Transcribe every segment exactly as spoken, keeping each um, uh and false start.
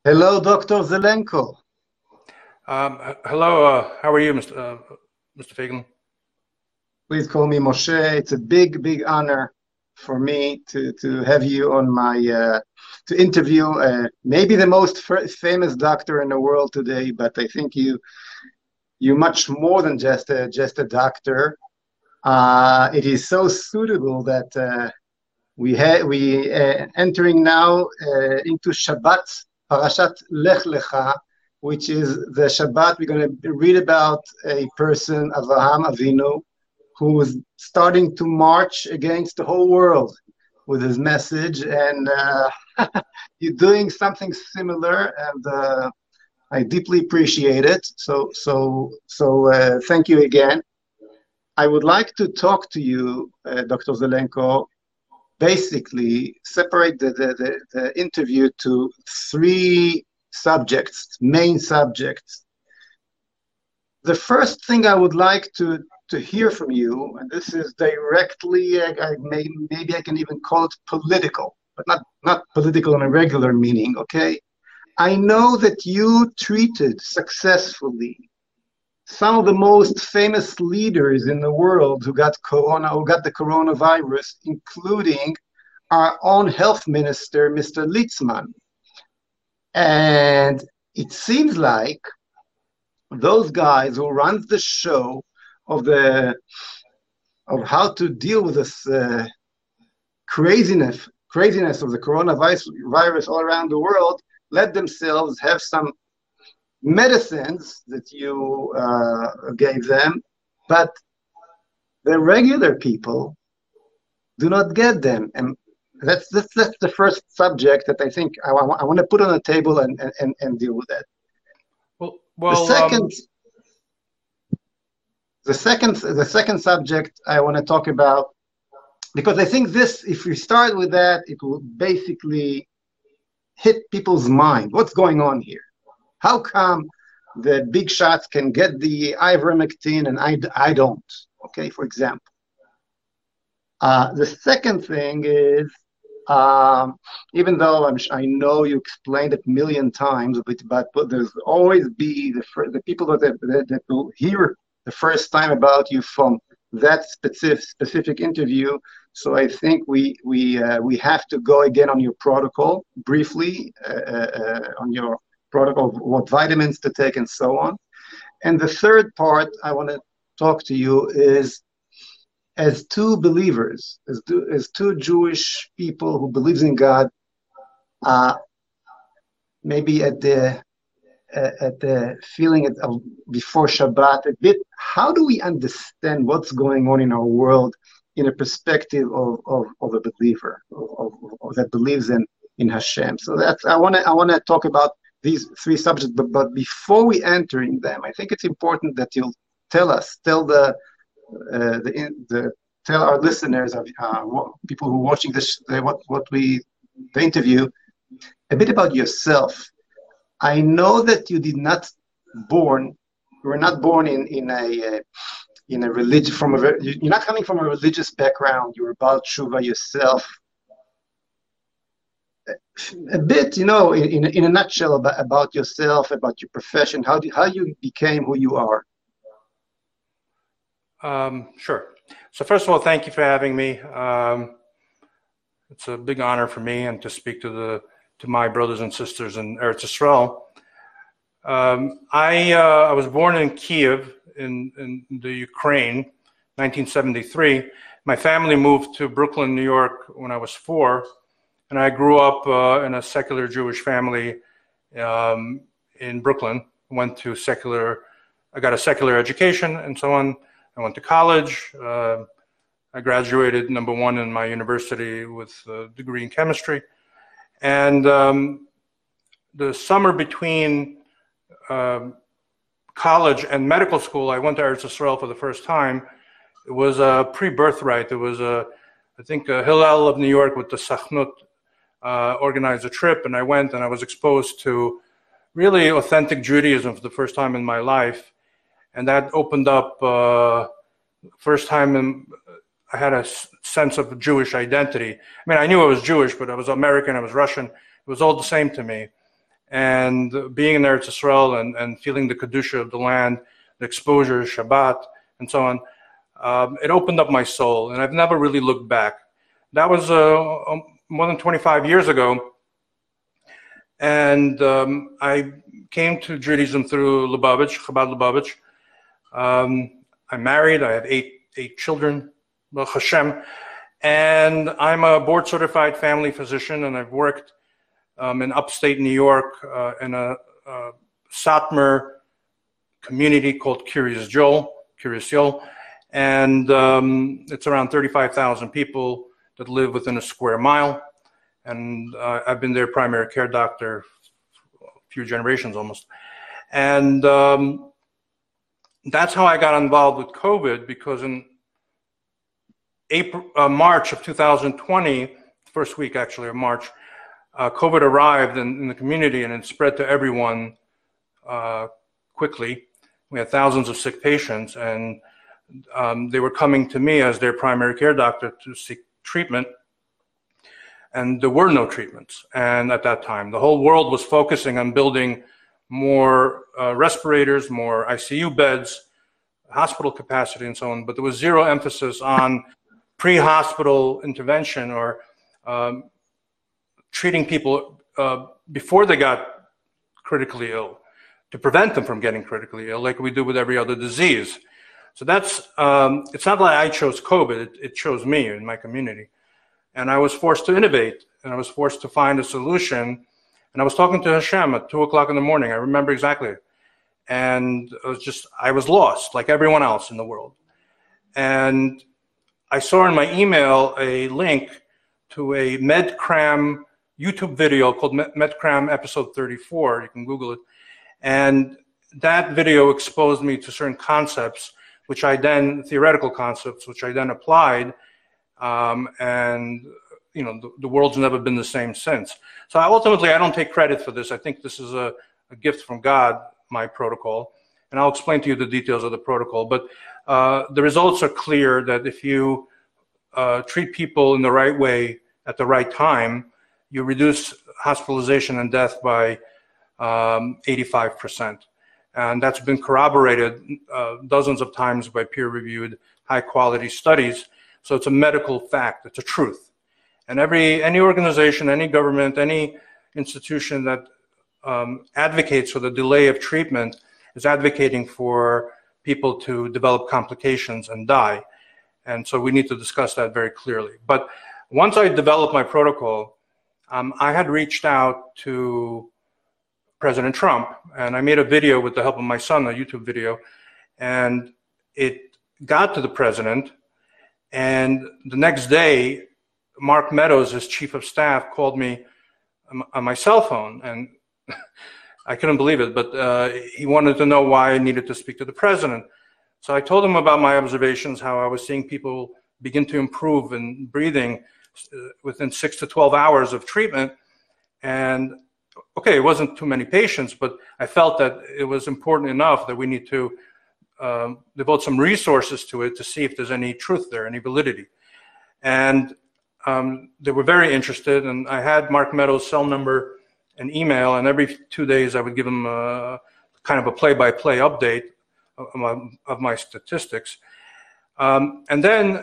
Hello, Doctor Zelenko. Um, h- hello, uh, how are you, Mister Uh, Mister Fagan? Please call me Moshe. It's a big, big honor for me to, to have you on my uh, to interview uh, maybe the most f famous doctor in the world today. But I think you you much more than just a just a doctor. Uh, it is so suitable that uh, we ha we uh, entering now uh, into Shabbat, Parashat Lech Lecha, which is the Shabbat we're going to read about a person, Avraham Avinu, who was starting to march against the whole world with his message, and uh, you're doing something similar, and uh, I deeply appreciate it. So, so, so, uh, thank you again. I would like to talk to you, uh, Doctor Zelenko, basically separate the, the, the, the interview to three subjects, main subjects. The first thing I would like to, to hear from you, and this is directly, I, I may, maybe I can even call it political, but not, not political in a regular meaning, okay? I know that you treated successfully some of the most famous leaders in the world who got corona, who got the coronavirus, including our own health minister, Mister Litzman. And it seems like those guys who runs the show of the of how to deal with this uh, craziness craziness of the coronavirus virus all around the world let themselves have some medicines that you uh, gave them, but the regular people do not get them. And that's, that's, that's the first subject that I think I, I want to put on the table and, and, and deal with that. Well, The well, second, um, the second, the second subject I want to talk about, because I think this, if we start with that, it will basically hit people's mind. What's going on here? How come the big shots can get the ivermectin and I, I don't? Okay, for example. Uh, the second thing is, um, even though I'm, I know you explained it a million times, but, but, but there's always be the, the people that, that, that will hear the first time about you from that specific specific interview. So I think we we uh, we have to go again on your protocol briefly, uh, uh, on your protocol, what vitamins to take and so on. And the third part I want to talk to you is, as two believers, as two, as two Jewish people who believes in God, uh, maybe at the uh, at the feeling of before Shabbat a bit, how do we understand what's going on in our world in a perspective of, of, of a believer, of, of, of that believes in, in Hashem? So that's I want to I want to talk about these three subjects, but, but before we enter in them, I think it's important that you'll tell us, tell the uh, the, the tell our listeners, of uh, what, people who are watching this, uh, what what we the interview, a bit about yourself. I know that you did not born, you were not born in in a uh, in a religion from a you're not coming from a religious background. You were Baal Tshuva yourself. A bit, you know, in in a nutshell about, about yourself, about your profession, how do, how you became who you are. um, sure. So first of all, thank you for having me. Um, it's a big honor for me and to speak to the to my brothers and sisters in Eretz Yisrael. Um, I uh, I was born in Kiev in in the Ukraine, nineteen seventy-three. My family moved to Brooklyn, New York when I was four, and I grew up uh, in a secular Jewish family um, in Brooklyn. Went to secular, I got a secular education and so on. I went to college. Uh, I graduated number one in my university with a degree in chemistry. And um, the summer between um, college and medical school, I went to Eretz Yisrael for the first time. It was a pre-birthright. It was a, I think, a Hillel of New York with the Sachnut uh, organized a trip, and I went and I was exposed to really authentic Judaism for the first time in my life. And that opened up, uh, first time in, I had a sense of Jewish identity. I mean, I knew I was Jewish, but I was American, I was Russian. It was all the same to me. And being in Eretz Yisrael and, and feeling the Kedusha of the land, the exposure, Shabbat, and so on, um, it opened up my soul, and I've never really looked back. That was uh, more than twenty-five years ago, and um, I came to Judaism through Lubavitch, Chabad Lubavitch. Um, I'm married, I have eight, eight children, Baruch Hashem, and I'm a board-certified family physician, and I've worked um, in upstate New York uh, in a, a Satmar community called Kiryas Joel, Kiryas Joel, and um, it's around thirty-five thousand people that live within a square mile, and uh, I've been their primary care doctor for a few generations almost. And um, that's how I got involved with COVID, because in April, uh, March of two thousand twenty, first week actually of March, uh, COVID arrived in, in the community, and it spread to everyone uh, quickly. We had thousands of sick patients, and um, they were coming to me as their primary care doctor to seek treatment, and there were no treatments. And at that time, the whole world was focusing on building more uh, respirators, more I C U beds, hospital capacity, and so on, but there was zero emphasis on pre-hospital intervention or um, treating people uh, before they got critically ill, to prevent them from getting critically ill, like we do with every other disease. So that's, um, it's not like I chose COVID, it, it chose me in my community. And I was forced to innovate, and I was forced to find a solution. And I was talking to Hashem at two o'clock in the morning, I remember exactly. And it was just, I was lost, like everyone else in the world. And I saw in my email a link to a MedCram YouTube video called MedCram episode thirty-four, you can Google it. And that video exposed me to certain concepts, which I then, theoretical concepts, which I then applied, um, and you know, the, the world's never been the same since. So I, ultimately, I don't take credit for this. I think this is a, a gift from God, my protocol, and I'll explain to you the details of the protocol. But uh, the results are clear that if you uh, treat people in the right way at the right time, you reduce hospitalization and death by um, eighty-five percent. And that's been corroborated uh, dozens of times by peer-reviewed, high-quality studies. So it's a medical fact. It's a truth. And every any organization, any government, any institution that um, advocates for the delay of treatment is advocating for people to develop complications and die. And so we need to discuss that very clearly. But once I developed my protocol, um, I had reached out to President Trump, and I made a video with the help of my son, a YouTube video, and it got to the president. And the next day, Mark Meadows, his chief of staff, called me on my cell phone, and I couldn't believe it, but uh, he wanted to know why I needed to speak to the president. So I told him about my observations, how I was seeing people begin to improve in breathing within six to twelve hours of treatment. And okay, it wasn't too many patients, but I felt that it was important enough that we need to um, devote some resources to it to see if there's any truth there, any validity. And um, they were very interested, and I had Mark Meadows' cell number and email, and every two days I would give him a, kind of a play-by-play update of my, of my statistics. Um, and then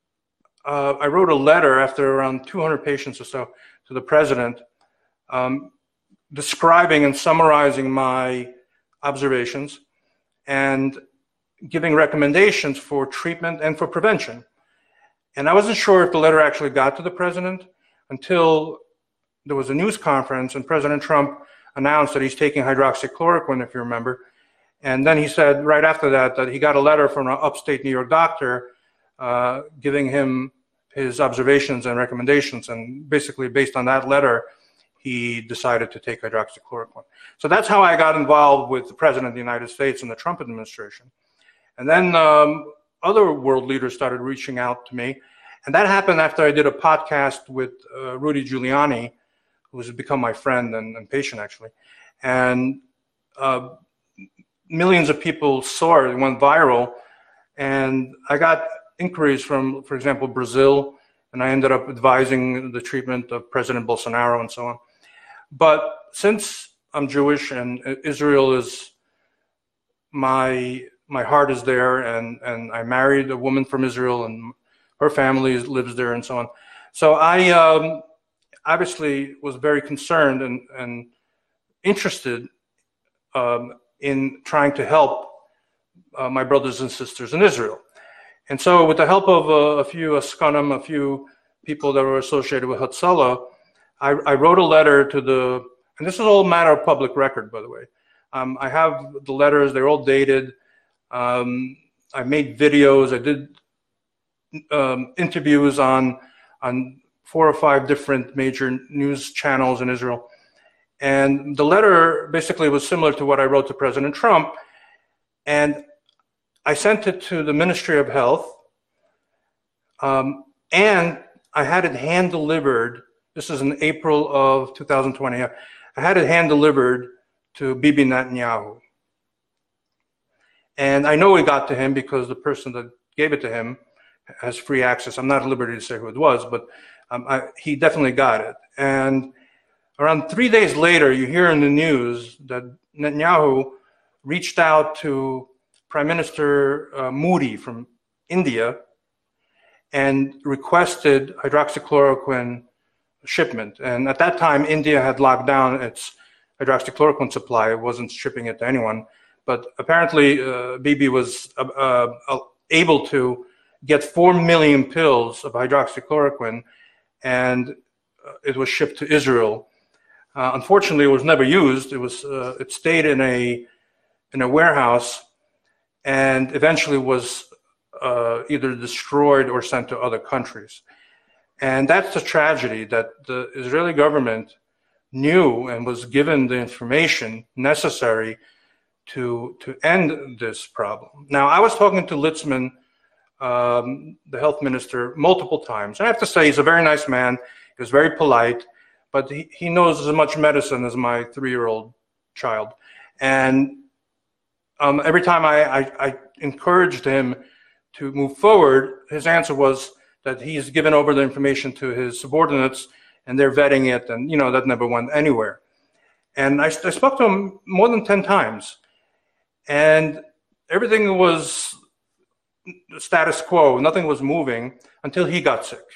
uh, I wrote a letter after around two hundred patients or so to the president, um, describing and summarizing my observations and giving recommendations for treatment and for prevention. And I wasn't sure if the letter actually got to the president until there was a news conference and President Trump announced that he's taking hydroxychloroquine, if you remember. And then he said right after that that he got a letter from an upstate New York doctor uh, giving him his observations and recommendations. And basically based on that letter, he decided to take hydroxychloroquine. So that's how I got involved with the President of the United States and the Trump administration. And then um, other world leaders started reaching out to me. And that happened after I did a podcast with uh, Rudy Giuliani, who has become my friend and, and patient, actually. And uh, millions of people saw it. It went viral. And I got inquiries from, for example, Brazil, and I ended up advising the treatment of President Bolsonaro and so on. But since I'm Jewish, and Israel is my my heart is there, and and I married a woman from Israel, and her family lives there, and so on. So I um, obviously was very concerned and and interested um, in trying to help uh, my brothers and sisters in Israel. And so, with the help of uh, a few Askanim, a few people that were associated with Hatzalah, I, I wrote a letter to the, and this is all matter of public record, by the way. Um, I have the letters, they're all dated. Um, I made videos, I did um, interviews on, on four or five different major news channels in Israel. And the letter basically was similar to what I wrote to President Trump. And I sent it to the Ministry of Health, um, and I had it hand delivered. This is in April of two thousand twenty. I had it hand delivered to Bibi Netanyahu. And I know it got to him because the person that gave it to him has free access. I'm not at liberty to say who it was, but um, I, he definitely got it. And around three days later, you hear in the news that Netanyahu reached out to Prime Minister uh, Modi from India and requested hydroxychloroquine shipment. And at that time, India had locked down its hydroxychloroquine supply. It wasn't shipping it to anyone. But apparently, uh, Bibi was uh, uh, able to get four million pills of hydroxychloroquine, and uh, it was shipped to Israel. Uh, unfortunately, it was never used. It was uh, it stayed in a in a warehouse, and eventually was uh, either destroyed or sent to other countries. And that's the tragedy, that the Israeli government knew and was given the information necessary to, to end this problem. Now, I was talking to Litzman, um, the health minister, multiple times. And I have to say, he's a very nice man. He was very polite, but he, he knows as much medicine as my three-year-old child. And Um, every time I, I, I encouraged him to move forward, his answer was that he's given over the information to his subordinates and they're vetting it, and you know that never went anywhere. And I, I spoke to him more than ten times, and everything was status quo. Nothing was moving until he got sick.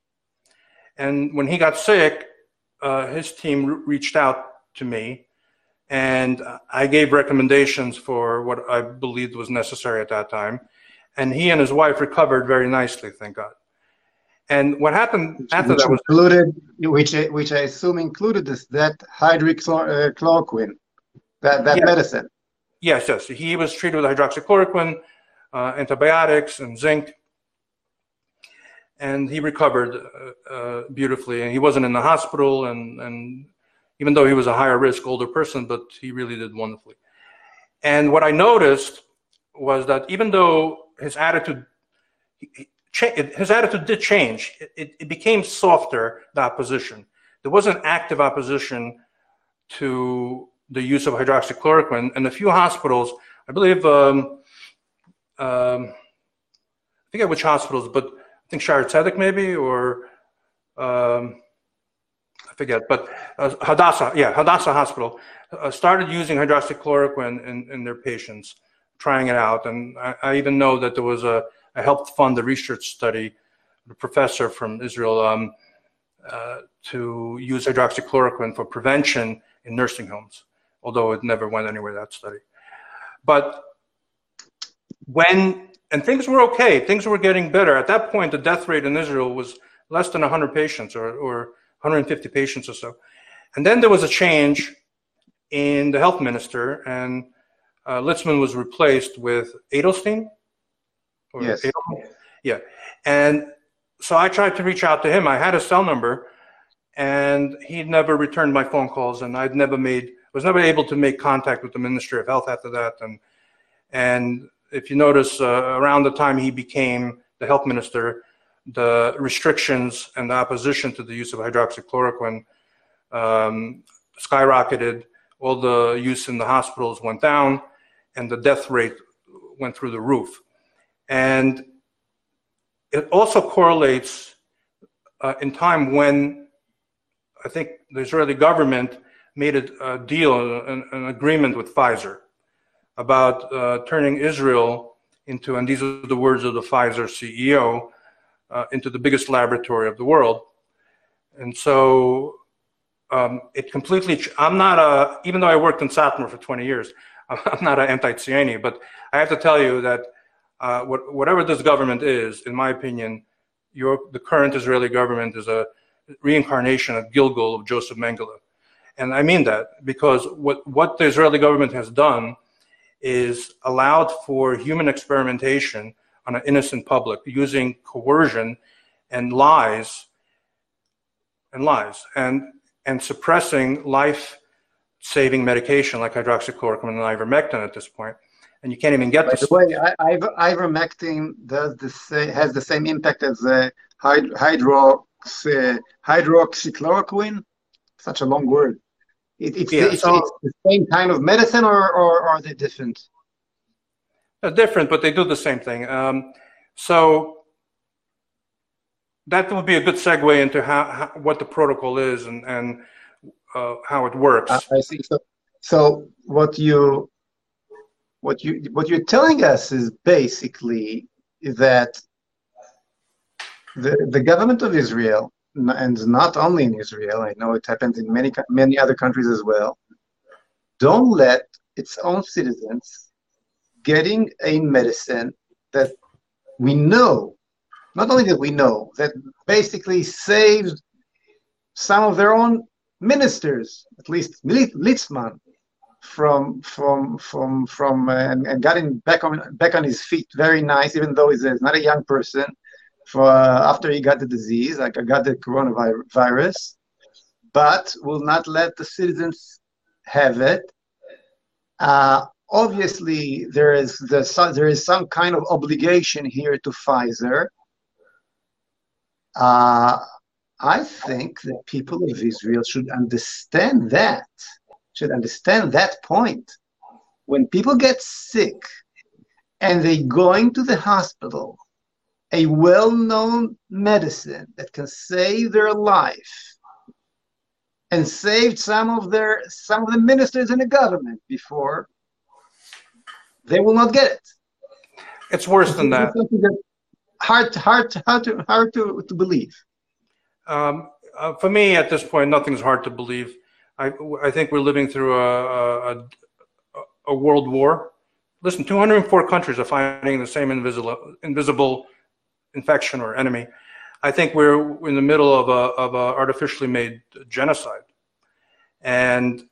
And when he got sick, uh, his team re- reached out to me. And I gave recommendations for what I believed was necessary at that time. And he and his wife recovered very nicely, thank God. And what happened which, after which that was... Included, which, which I assume included this, that hydroxychloroquine, that, that yes. medicine. Yes, yes. He was treated with hydroxychloroquine, uh, antibiotics, and zinc. And he recovered uh, uh, beautifully. And he wasn't in the hospital, and... and even though he was a higher risk older person, but he really did wonderfully. And what I noticed was that even though his attitude, his attitude did change, it, it became softer, the opposition. There wasn't active opposition to the use of hydroxychloroquine. And a few hospitals, I believe, um, um, I forget which hospitals, but I think Shire Tzedek maybe, or um, I forget, but uh, Hadassah, yeah, Hadassah Hospital uh, started using hydroxychloroquine in, in their patients, trying it out. And I, I even know that there was a, I helped fund a research study, a professor from Israel, um, uh, to use hydroxychloroquine for prevention in nursing homes, although it never went anywhere, that study. But when, and things were okay, things were getting better. At that point, the death rate in Israel was less than one hundred patients, or, or one hundred fifty patients or so. And then there was a change in the health minister, and uh, Litzman was replaced with Edelstein. Or yes. Edelman? Yeah. And so I tried to reach out to him. I had a cell number, and he never returned my phone calls, and I'd never made, was never able to make contact with the Ministry of Health after that. And, and if you notice, uh, around the time he became the health minister, the restrictions and the opposition to the use of hydroxychloroquine um, skyrocketed. All the use in the hospitals went down, and the death rate went through the roof. And it also correlates uh, in time when I think the Israeli government made a, a deal, an, an agreement with Pfizer about uh, turning Israel into, and these are the words of the Pfizer C E O, uh, into the biggest laboratory of the world. And so um, it completely, I'm not a, even though I worked in Satmar for twenty years, I'm not an anti-Tzioני, but I have to tell you that uh, what, whatever this government is, in my opinion, your, the current Israeli government is a reincarnation of Gilgal of Joseph Mengele. And I mean that because what, what the Israeli government has done is allowed for human experimentation on an innocent public using coercion and lies and lies and, and suppressing life-saving medication like hydroxychloroquine and ivermectin at this point. And you can't even get By this. the way, I, I, ivermectin does the same, has the same impact as uh, hyd hydrox, uh, hydroxychloroquine. Such a long word. It, it's, Yeah, the, it's, so, it's the same kind of medicine, or, or, or are they different? They're different, but they do the same thing. Um, so that would be a good segue into how, how what the protocol is and, and uh, how it works. I, I see. So, so what you what you what you're telling us is basically that the the government of Israel, and not only in Israel, I know it happens in many many other countries as well, don't let its own citizens getting a medicine that we know, not only that we know, that basically saved some of their own ministers, at least Litzman, from from from from uh, and, and got him back on back on his feet. Very nice, even though he's, a, he's not a young person. For uh, after he got the disease, like I got the coronavirus, but will not let the citizens have it. Uh, obviously, there is the there is some kind of obligation here to Pfizer. Uh, I think that people of Israel should understand that. Should understand that point. When people get sick and they going to the hospital, a well-known medicine that can save their life and saved some of their some of the ministers in the government before, they will not get it. It's worse than that. Hard, hard, hard to hard to, to believe. Um, uh, for me, at this point, nothing's hard to believe. I, I think we're living through a, a, a world war. Listen, two hundred four countries are fighting the same invisible, invisible infection or enemy. I think we're in the middle of a, of a artificially made genocide. And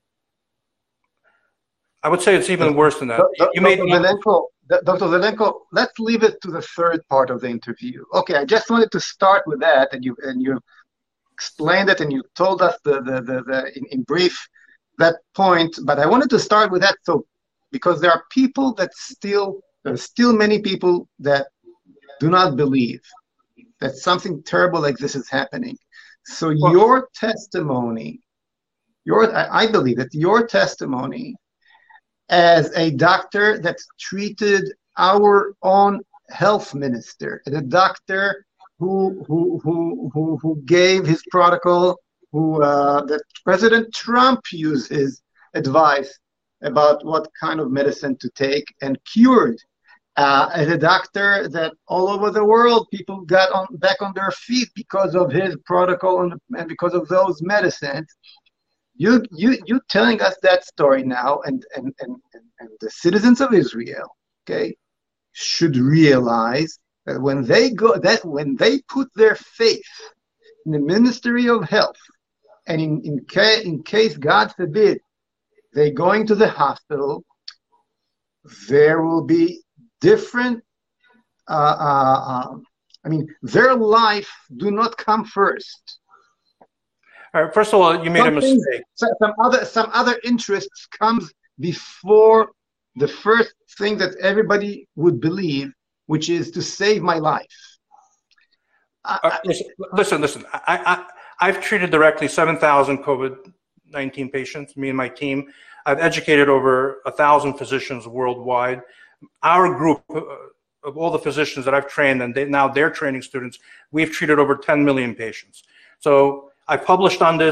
I would say it's even worse than that. Doctor You made Zelenko, Doctor Zelenko, let's leave it to the third part of the interview. Okay, I just wanted to start with that, and you and you explained it, and you told us the the, the, the in, in brief that point. But I wanted to start with that, so because there are people that still there are still many people that do not believe that something terrible like this is happening. So well, your testimony, your I, I believe that your testimony as a doctor that treated our own health minister, and a doctor who who who who, who gave his protocol, who uh, that President Trump used his advice about what kind of medicine to take and cured. Uh, as a doctor that all over the world people got on back on their feet because of his protocol and, and because of those medicines. You you you telling us that story now, and and, and and the citizens of Israel, okay, should realize that when they go that when they put their faith in the Ministry of Health, and in in case in case God forbid they going to the hospital, there will be different. Uh, uh, uh, I mean, their life do not come first. All right, first of all, you made Something, a mistake. Some other, some other interests comes before the first thing that everybody would believe, which is to save my life. Uh, I, listen, listen, listen. I, I, I've treated directly seven thousand COVID nineteen patients, me and my team. I've educated over one thousand physicians worldwide. Our group uh, of all the physicians that I've trained, and they, now they're training students, we've treated over ten million patients. So I published on this.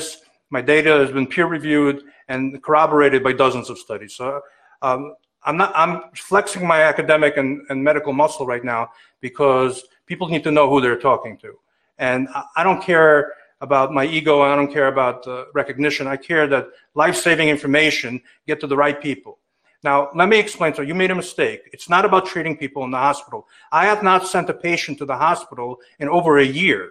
My data has been peer-reviewed and corroborated by dozens of studies. So um, I'm not, I'm flexing my academic and, and medical muscle right now because people need to know who they're talking to. And I, I don't care about my ego, and I don't care about uh, recognition. I care that life-saving information get to the right people. Now, let me explain. So you made a mistake. It's not about treating people in the hospital. I have not sent a patient to the hospital in over a year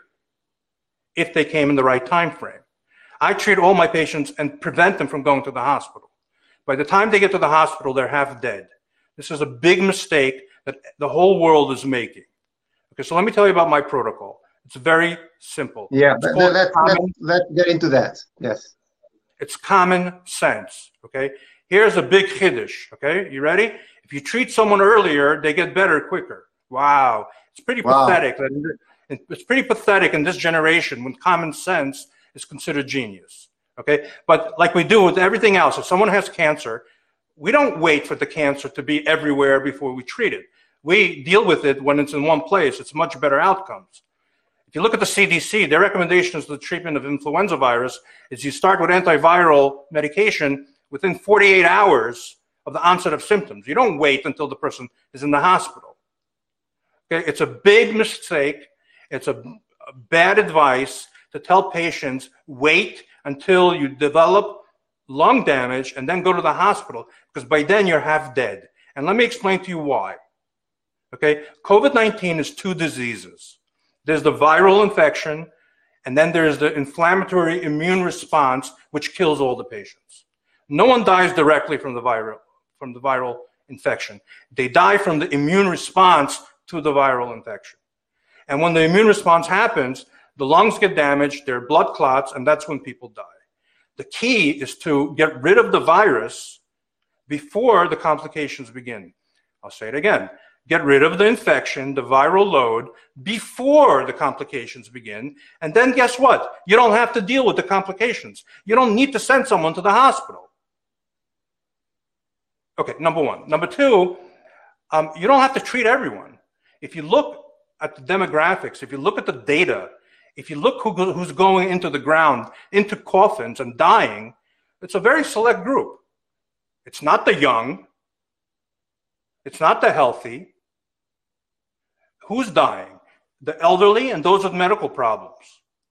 if they came in the right time frame. I treat all my patients and prevent them from going to the hospital. By the time they get to the hospital, they're half dead. This is a big mistake that the whole world is making. Okay, so let me tell you about my protocol. It's very simple. Yeah, but let's, let's, let's get into that. Yes. It's common sense, okay? Here's a big chiddush, okay? You ready? If you treat someone earlier, they get better quicker. Wow. It's pretty wow. pathetic. It's pretty pathetic in this generation when common sense is considered genius, okay? But like we do with everything else, if someone has cancer, we don't wait for the cancer to be everywhere before we treat it. We deal with it when it's in one place. It's much better outcomes. If you look at the C D C, their recommendations for the treatment of influenza virus is you start with antiviral medication within forty-eight hours of the onset of symptoms. You don't wait until the person is in the hospital. Okay, it's a big mistake. It's a, a bad advice to tell patients, wait until you develop lung damage and then go to the hospital, because by then you're half dead. And let me explain to you why. Okay, COVID nineteen is two diseases. There's the viral infection, and then there's the inflammatory immune response, which kills all the patients. No one dies directly from the viral, from the viral infection. They die from the immune response to the viral infection. And when the immune response happens, the lungs get damaged, there are blood clots, and that's when people die. The key is to get rid of the virus before the complications begin. I'll say it again. Get rid of the infection, the viral load, before the complications begin. And then guess what? You don't have to deal with the complications. You don't need to send someone to the hospital. Okay, number one. Number two, um, you don't have to treat everyone. If you look at the demographics, if you look at the data, if you look who, who's going into the ground, into coffins and dying, it's a very select group. It's not the young. It's not the healthy. Who's dying? The elderly and those with medical problems.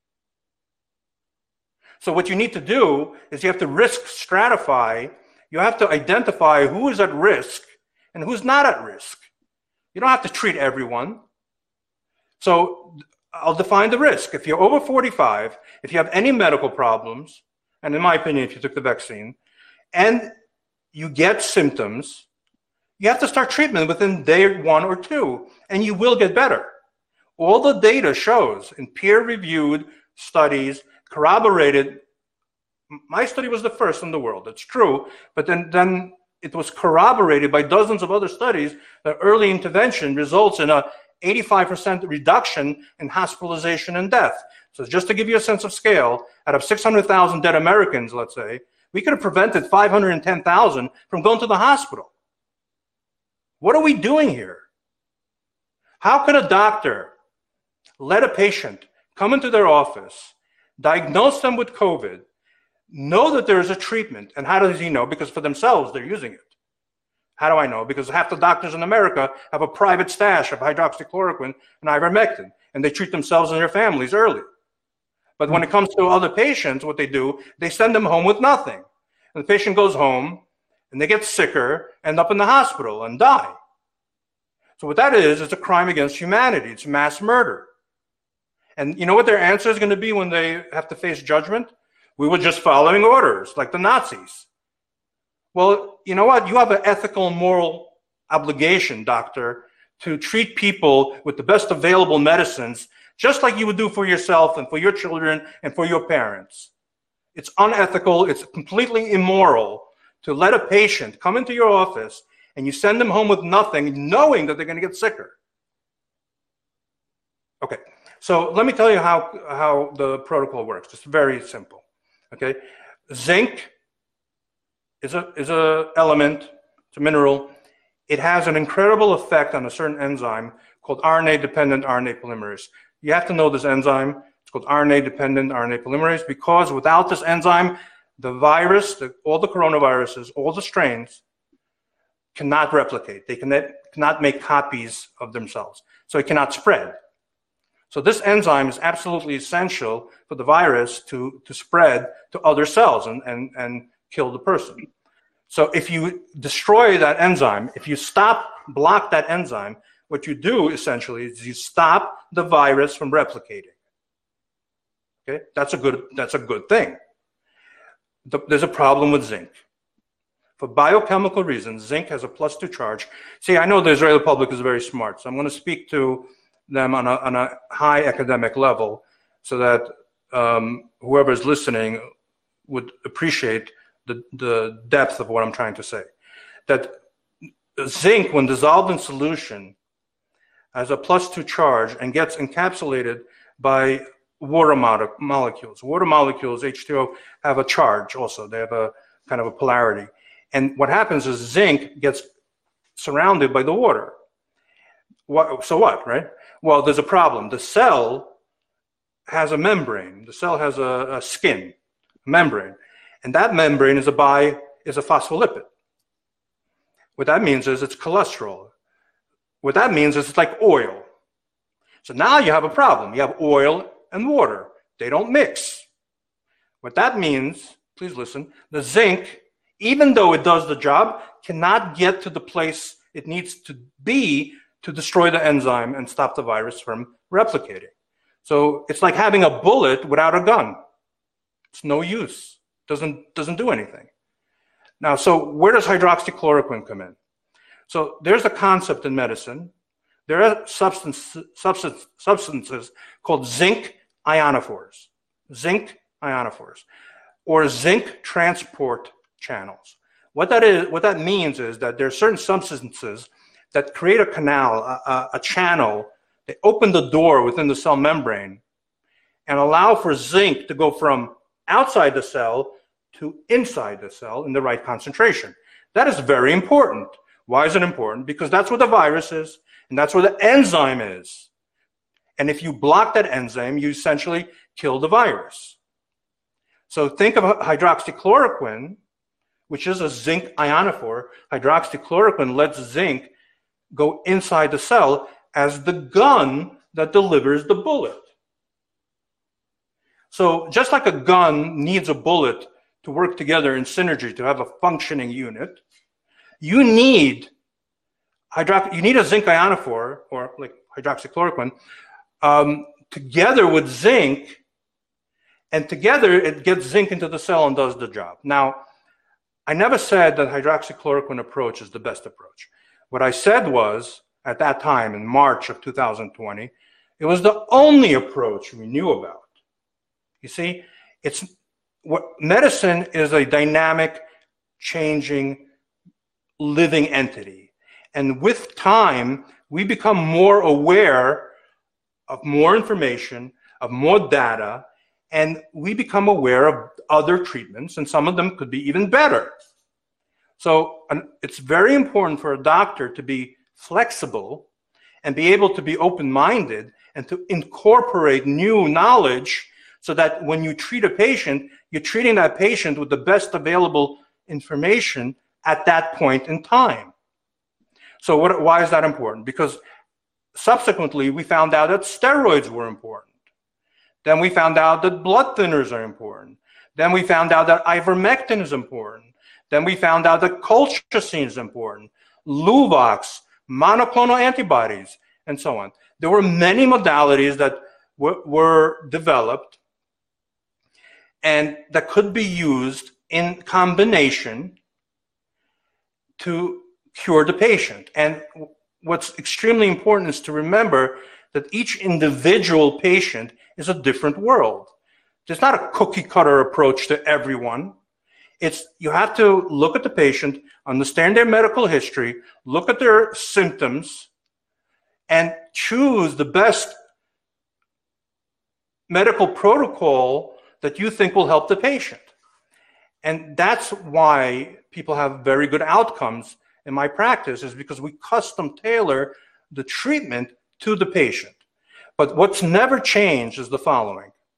So what you need to do is you have to risk stratify. You have to identify who is at risk and who's not at risk. You don't have to treat everyone. So I'll define the risk. If you're over forty-five, if you have any medical problems, and in my opinion, if you took the vaccine, and you get symptoms, you have to start treatment within day one or two, and you will get better. All the data shows in peer-reviewed studies, corroborated. My study was the first in the world, it's true, but then, then it was corroborated by dozens of other studies that early intervention results in a eighty-five percent reduction in hospitalization and death. So just to give you a sense of scale, out of six hundred thousand dead Americans, let's say, we could have prevented five hundred ten thousand from going to the hospital. What are we doing here? How could a doctor let a patient come into their office, diagnose them with COVID, know that there is a treatment, and how does he know? Because for themselves, they're using it. How do I know? Because half the doctors in America have a private stash of hydroxychloroquine and ivermectin, and they treat themselves and their families early. But when it comes to other patients, what they do, they send them home with nothing. And the patient goes home, and they get sicker, end up in the hospital, and die. So what that is, it's a crime against humanity. It's mass murder. And you know what their answer is going to be when they have to face judgment? We were just following orders, like the Nazis. Well, you know what? You have an ethical and moral obligation, doctor, to treat people with the best available medicines, just like you would do for yourself and for your children and for your parents. It's unethical. It's completely immoral to let a patient come into your office and you send them home with nothing, knowing that they're going to get sicker. Okay, so let me tell you how, how the protocol works. It's very simple. Okay, zinc is a is a element, it's a mineral. It has an incredible effect on a certain enzyme called R N A-dependent R N A polymerase. You have to know this enzyme. It's called R N A-dependent R N A polymerase, because without this enzyme, the virus, the, all the coronaviruses, all the strains cannot replicate. They cannot, cannot make copies of themselves. So it cannot spread. So this enzyme is absolutely essential for the virus to, to spread to other cells and, and, and kill the person. So if you destroy that enzyme, if you stop, block that enzyme, what you do essentially is you stop the virus from replicating. Okay, that's a good, that's a good thing. The, there's a problem with zinc. For biochemical reasons, zinc has a plus two charge. See, I know the Israeli public is very smart, so I'm going to speak to them on a, on a high academic level so that um, whoever is listening would appreciate the, the depth of what I'm trying to say. That zinc, when dissolved in solution, has a plus two charge and gets encapsulated by water mo molecules. Water molecules, H two O, have a charge also. They have a kind of a polarity. And what happens is zinc gets surrounded by the water. What, so what, right? Well, there's a problem. The cell has a membrane. The cell has a, a skin, a membrane. And that membrane is a bi, is a phospholipid. What that means is it's cholesterol. What that means is it's like oil. So now you have a problem. You have oil and water. They don't mix. What that means, please listen, the zinc, even though it does the job, cannot get to the place it needs to be to destroy the enzyme and stop the virus from replicating. So it's like having a bullet without a gun. It's no use. Doesn't, doesn't do anything. Now, so where does hydroxychloroquine come in? So there's a concept in medicine. There are substance, substance, substances called zinc ionophores, zinc ionophores, or zinc transport channels. What that is, what that means is that there are certain substances that create a canal, a, a channel. They open the door within the cell membrane and allow for zinc to go from outside the cell to inside the cell in the right concentration. That is very important. Why is it important? Because that's where the virus is, and that's where the enzyme is. And if you block that enzyme, you essentially kill the virus. So think of hydroxychloroquine, which is a zinc ionophore. Hydroxychloroquine lets zinc go inside the cell as the gun that delivers the bullet. So just like a gun needs a bullet to work together in synergy to have a functioning unit, you need hydro you need a zinc ionophore, or like hydroxychloroquine, um, together with zinc, and together it gets zinc into the cell and does the job. Now, I never said that hydroxychloroquine approach is the best approach. What I said was, at that time, in March of two thousand twenty, it was the only approach we knew about. You see, it's what medicine is a dynamic, changing, living entity. And with time, we become more aware of more information, of more data, and we become aware of other treatments, and some of them could be even better. So it's very important for a doctor to be flexible and be able to be open-minded and to incorporate new knowledge so that when you treat a patient, you're treating that patient with the best available information at that point in time. So what, why is that important? Because subsequently we found out that steroids were important. Then we found out that blood thinners are important. Then we found out that ivermectin is important. Then we found out that colchicine is important, Luvox, monoclonal antibodies, and so on. There were many modalities that were, were developed and that could be used in combination to cure the patient. And what's extremely important is to remember that each individual patient is a different world. There's not a cookie cutter approach to everyone. It's, you have to look at the patient, understand their medical history, look at their symptoms, and choose the best medical protocol that you think will help the patient. And that's why people have very good outcomes in my practice, is because we custom tailor the treatment to the patient. But what's never changed is the following.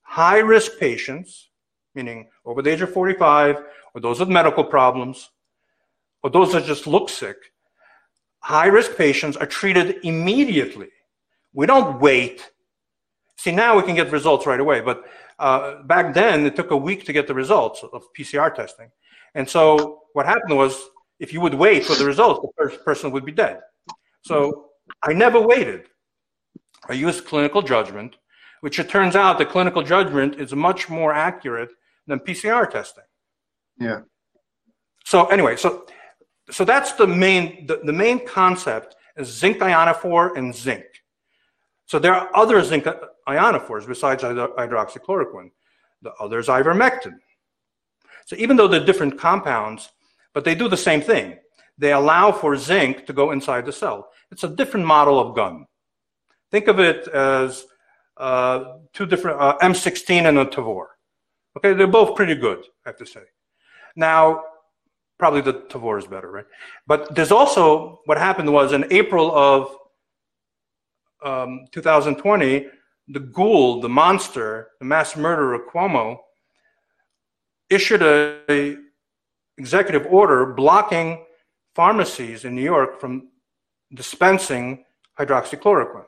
high-risk patients, meaning over the age of forty-five, or those with medical problems, or those that just look sick, high-risk patients are treated immediately. We don't wait. See, now we can get results right away, but uh, back then it took a week to get the results of P C R testing. And so what happened was, if you would wait for the results, the first person would be dead. So I never waited. I used clinical judgment, which it turns out that clinical judgment is much more accurate than P C R testing. Yeah. So anyway, so so that's the main the, the main concept is zinc ionophore and zinc. So there are other zinc ionophores besides hydroxychloroquine. The other is ivermectin. So even though they're different compounds, but they do the same thing. They allow for zinc to go inside the cell. It's a different model of gun. Think of it as uh, two different, uh, M sixteen and a Tavor. Okay, they're both pretty good, I have to say. Now, probably the Tavor is better, right? But there's also, what happened was in April of um, two thousand twenty, the ghoul, the monster, the mass murderer Cuomo, issued a, a executive order blocking pharmacies in New York from dispensing hydroxychloroquine.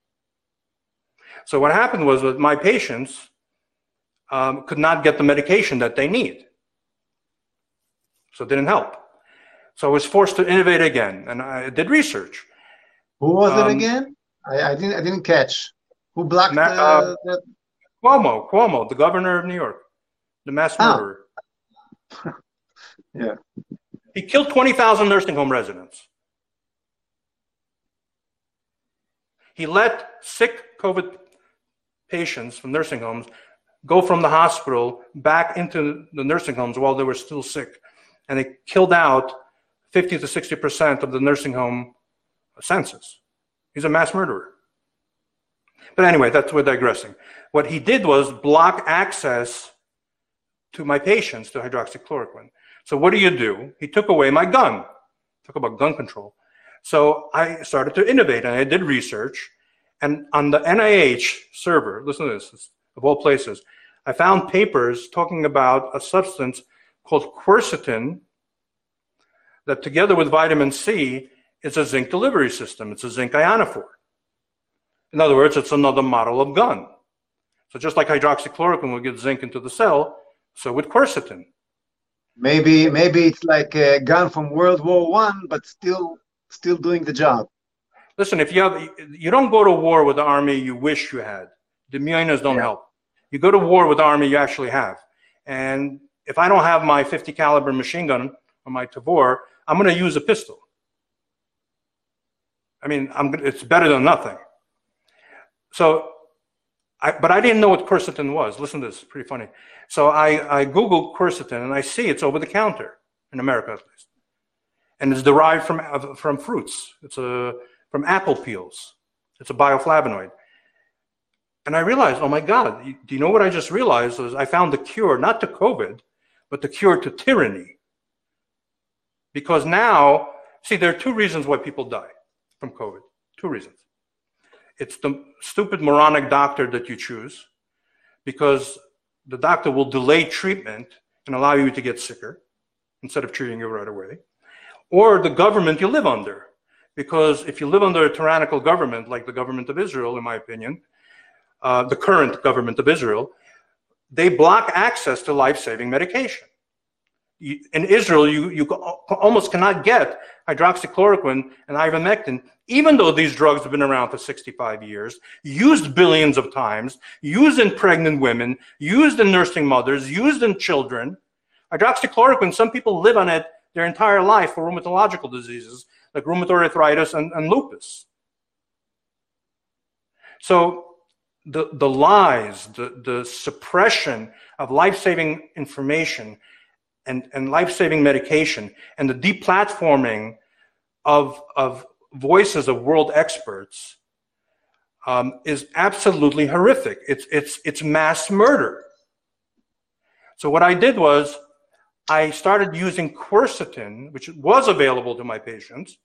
So what happened was that my patients um, could not get the medication that they need. So it didn't help. So I was forced to innovate again, and I did research. Who was um, it again? I, I didn't. I didn't catch. Who blocked Ma- the, uh, the... Cuomo? Cuomo, the governor of New York, the mass murderer. Ah. Yeah. He killed twenty thousand nursing home residents. He let sick COVID patients from nursing homes go from the hospital back into the nursing homes while they were still sick. And they killed out fifty to sixty percent of the nursing home census. He's a mass murderer. But anyway, that's, we're digressing. What he did was block access to my patients to hydroxychloroquine. So what do you do? He took away my gun. Talk about gun control. So I started to innovate, and I did research. And on the N I H server, listen to this, of all places, I found papers talking about a substance called quercetin that, together with vitamin C, is a zinc delivery system. It's a zinc ionophore. In other words, it's another model of gun. So just like hydroxychloroquine will get zinc into the cell, so with quercetin. Maybe maybe it's like a gun from World War One, but still still doing the job. Listen, if you have, you don't go to war with the army you wish you had. The millions don't Yeah. help. You go to war with the army you actually have. And if I don't have my fifty caliber machine gun or my Tavor, I'm going to use a pistol. I mean, I'm, it's better than nothing. So, I, but I didn't know what quercetin was. Listen to this, it's pretty funny. So I, I Googled quercetin, and I see it's over the counter, in America at least. And it's derived from, from fruits. It's a, from apple peels. It's a bioflavonoid. And I realized, oh my God, do you know what I just realized? Was I found the cure, not to COVID, but the cure to tyranny. Because now, see, there are two reasons why people die from COVID. Two reasons. It's the stupid moronic doctor that you choose, because the doctor will delay treatment and allow you to get sicker instead of treating you right away. Or the government you live under. Because if you live under a tyrannical government, like the government of Israel, in my opinion, uh, the current government of Israel, they block access to life-saving medication. You, in Israel, you, you almost cannot get hydroxychloroquine and ivermectin, even though these drugs have been around for sixty-five years, used billions of times, used in pregnant women, used in nursing mothers, used in children. Hydroxychloroquine, some people live on it their entire life for rheumatological diseases like rheumatoid arthritis and, and lupus. So the, the lies, the, the suppression of life-saving information and, and life-saving medication, and the deplatforming of, of voices of world experts um, is absolutely horrific. It's, it's, it's mass murder. So what I did was I started using quercetin, which was available to my patients,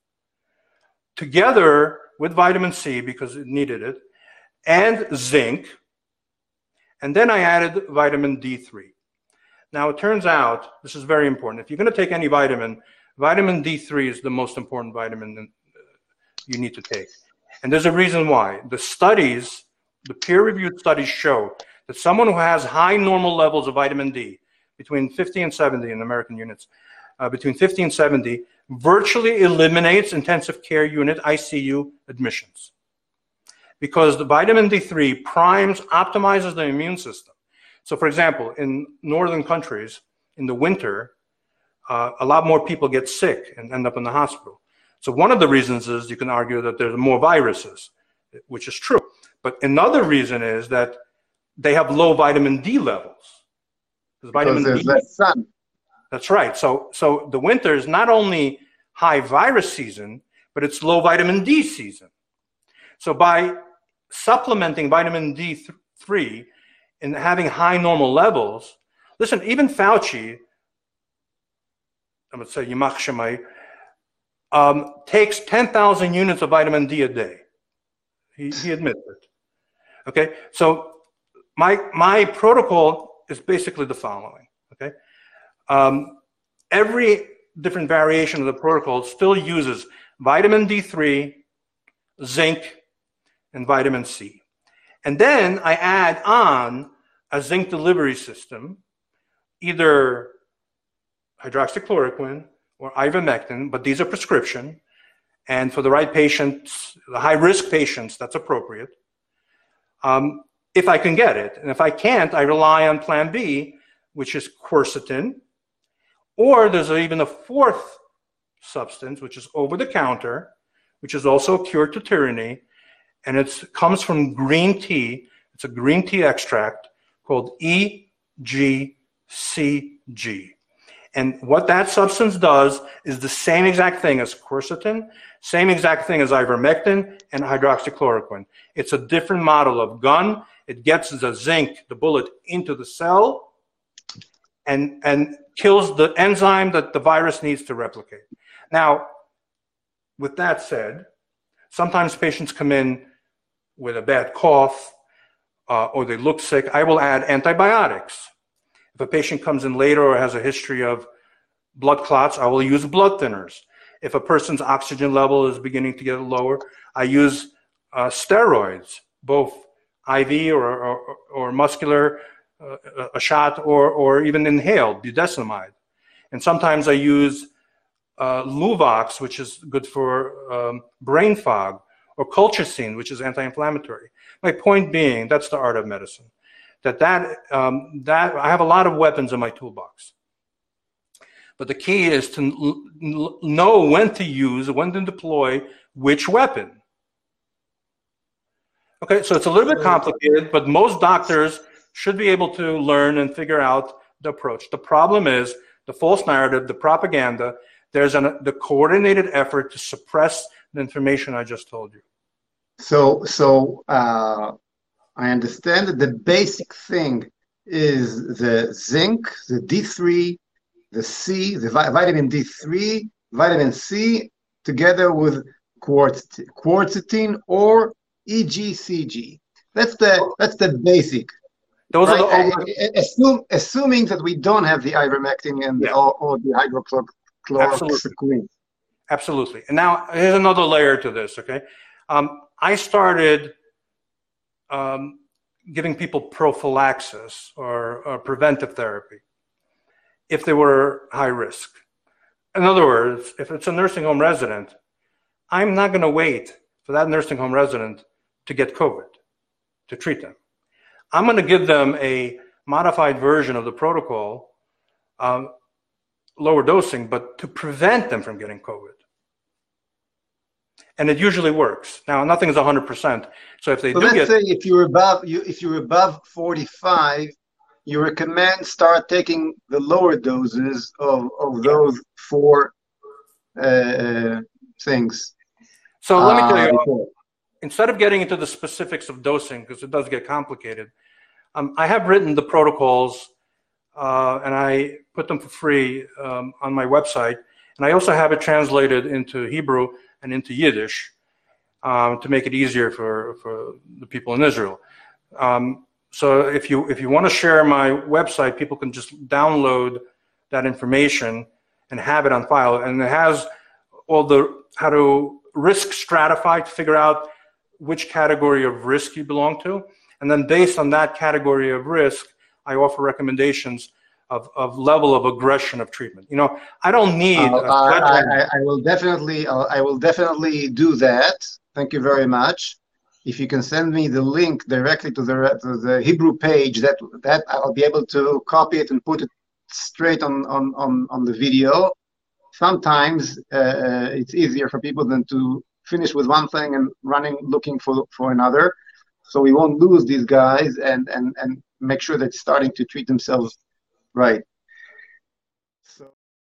together with vitamin C, because it needed it, and zinc, And then I added vitamin D three. Now, it turns out, this is very important. If you're going to take any vitamin, vitamin D three is the most important vitamin you need to take. And there's a reason why. The studies, the peer-reviewed studies show that someone who has high normal levels of vitamin D, between fifty and seventy in American units, uh, between fifty and seventy, virtually eliminates intensive care unit I C U admissions. Because the vitamin D three primes, optimizes the immune system. So for example, in northern countries, in the winter, uh, a lot more people get sick and end up in the hospital. So one of the reasons is you can argue that there's more viruses, which is true. But another reason is that they have low vitamin D levels. Because vitamin there's D, less sun. That's right. So, so the winter is not only high virus season, but it's low vitamin D season. So by supplementing vitamin D three and having high normal levels, listen, even Fauci, I'm going to say Yimach Shemai, um, takes ten thousand units of vitamin D a day. He, he admits it. Okay, so my, my protocol is basically the following, okay? Um, every different variation of the protocol still uses vitamin D three, zinc, and vitamin C. And then I add on a zinc delivery system, either hydroxychloroquine or ivermectin, but these are prescription. And for the right patients, the high-risk patients, that's appropriate. Um, if I can get it. And if I can't, I rely on plan B, which is quercetin. Or there's even a fourth substance, which is over-the-counter, which is also a cure to tyranny, and it comes from green tea. It's a green tea extract called E G C G. And what that substance does is the same exact thing as quercetin, same exact thing as ivermectin and hydroxychloroquine. It's a different model of gun. It gets the zinc, the bullet, into the cell and, and kills the enzyme that the virus needs to replicate. Now, with that said, sometimes patients come in with a bad cough uh, or they look sick. I will add antibiotics. If a patient comes in later or has a history of blood clots, I will use blood thinners. If a person's oxygen level is beginning to get lower, I use uh, steroids, both I V or, or, or muscular, uh, a shot, or, or even inhaled, budesonide. And sometimes I use uh, Luvox, which is good for um, brain fog, or colchicine, which is anti-inflammatory. My point being, that's the art of medicine. That, that, um, that I have a lot of weapons in my toolbox. But the key is to know when to use, when to deploy which weapon. Okay, so it's a little bit complicated, but most doctors should be able to learn and figure out the approach. The problem is the false narrative, the propaganda. There's an, the coordinated effort to suppress the information I just told you. So, so uh, I understand that the basic thing is the zinc, the D three, the C, the vi vitamin D three, vitamin C, together with quercetin, quercetin or E G C G. That's the that's the basic. Those right? are the over Assume, assuming that we don't have the ivermectin and yeah. or, or the hydroxychloroquine. Absolutely. Absolutely. And now here's another layer to this. Okay, um, I started um, giving people prophylaxis or, or preventive therapy if they were high risk. In other words, if it's a nursing home resident, I'm not going to wait for that nursing home resident to get COVID to treat them. I'm going to give them a modified version of the protocol, um, lower dosing, but to prevent them from getting COVID. And it usually works. Now, nothing is one hundred percent. So if they so do let's get... say if you're above, you, if you're above forty-five, you recommend start taking the lower doses of, of those four uh, things. So let me tell you, uh, instead of getting into the specifics of dosing, because it does get complicated, um, I have written the protocols uh, and I put them for free um, on my website. And I also have it translated into Hebrew and into Yiddish um, to make it easier for, for the people in Israel. Um, So if you if you want to share my website, people can just download that information and have it on file. And it has all the how to risk stratify to figure out which category of risk you belong to. And then based on that category of risk, I offer recommendations of, of level of aggression of treatment. You know, I don't need. Uh, I, I, I will definitely, uh, I will definitely do that. Thank you very much. If you can send me the link directly to the to the Hebrew page, that that I'll be able to copy it and put it straight on on on, on the video. Sometimes uh, it's easier for people than to finish with one thing and running looking for for another. So we won't lose these guys and and and make sure they're starting to treat themselves right. So.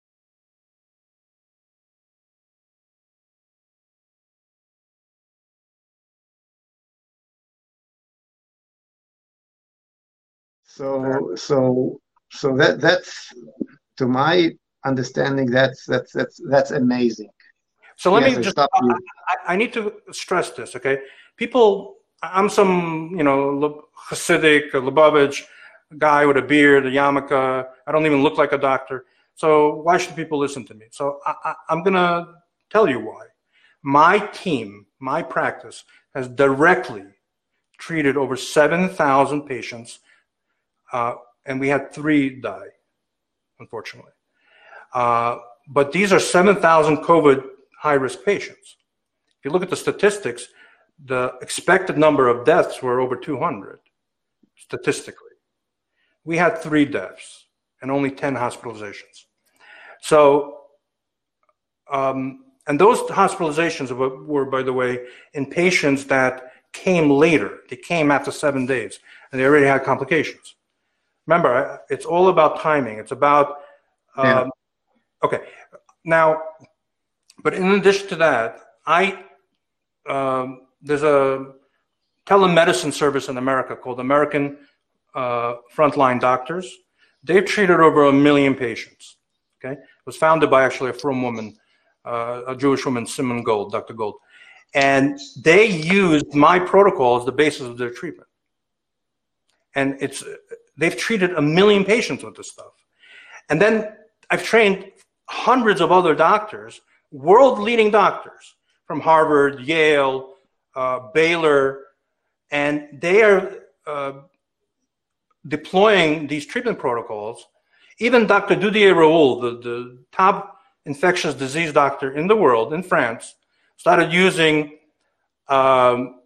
So so so that that's, to my understanding, that's that's that's that's amazing. So let yes, me just I, I need to stress this, okay? People, I'm some, you know, Hasidic, Lubavitch guy with a beard, a yarmulke. I don't even look like a doctor. So why should people listen to me? So I, I, I'm going to tell you why. My team, my practice, has directly treated over seven thousand patients, uh, and we had three die, unfortunately. Uh, but these are seven thousand COVID high-risk patients. If you look at the statistics, the expected number of deaths were over two hundred, statistically. We had three deaths and only ten hospitalizations. So, um, and those hospitalizations were, were, by the way, in patients that came later. They came after seven days, and they already had complications. Remember, it's all about timing. It's about, um, yeah. okay. Now, but in addition to that, I, um, there's a telemedicine service in America called American uh, Frontline Doctors. They've treated over a million patients, okay? It was founded by actually a frum woman, uh, a Jewish woman, Simon Gold, Doctor Gold. And they used my protocol as the basis of their treatment. And it's, they've treated a million patients with this stuff. And then I've trained hundreds of other doctors, world-leading doctors from Harvard, Yale, uh, Baylor, and they are uh, deploying these treatment protocols. Even Doctor Didier Raoult, the, the top infectious disease doctor in the world, in France, started using, um,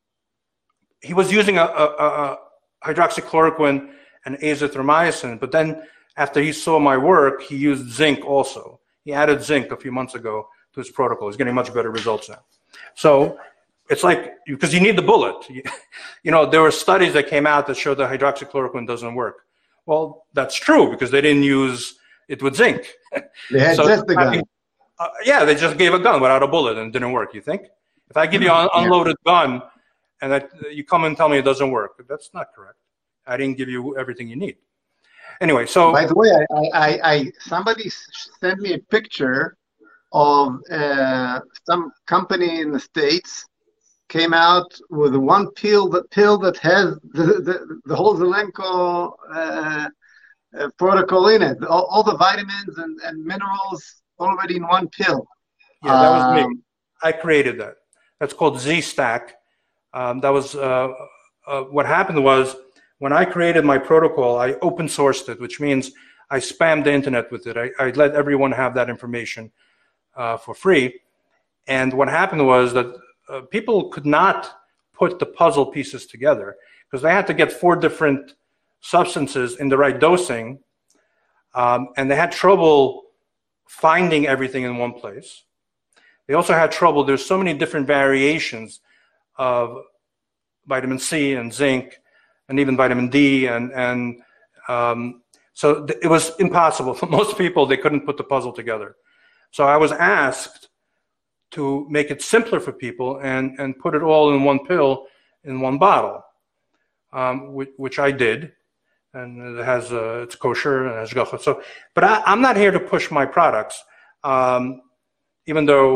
he was using a, a, a hydroxychloroquine and azithromycin, but then after he saw my work, he used zinc also. He added zinc a few months ago to his protocol. He's getting much better results now. So it's like, because you need the bullet. You know, there were studies that came out that showed that hydroxychloroquine doesn't work. Well, that's true because they didn't use it with zinc. They had so, just the gun. I mean, uh, yeah, they just gave a gun without a bullet and it didn't work, you think? If I give you an unloaded yeah. gun and that you come and tell me it doesn't work, that's not correct. I didn't give you everything you need. Anyway, so by the way, I, I, I somebody sent me a picture of uh, some company in the States came out with one pill that pill that has the the, the whole Zelenko uh, uh, protocol in it, all, all the vitamins and, and minerals already in one pill. Yeah, that was um, me. I created that. That's called Z-Stack. Um, that was uh, uh, what happened was. When I created my protocol, I open sourced it, which means I spammed the internet with it. I, I let everyone have that information uh, for free. And what happened was that uh, people could not put the puzzle pieces together because they had to get four different substances in the right dosing. Um, and they had trouble finding everything in one place. They also had trouble. There's so many different variations of vitamin C and zinc and even vitamin D, and, and um, so th it was impossible. For most people, they couldn't put the puzzle together. So I was asked to make it simpler for people and, and put it all in one pill, in one bottle, um, which, which I did, and it has, uh, it's kosher and has. So, but I, I'm not here to push my products, um, even though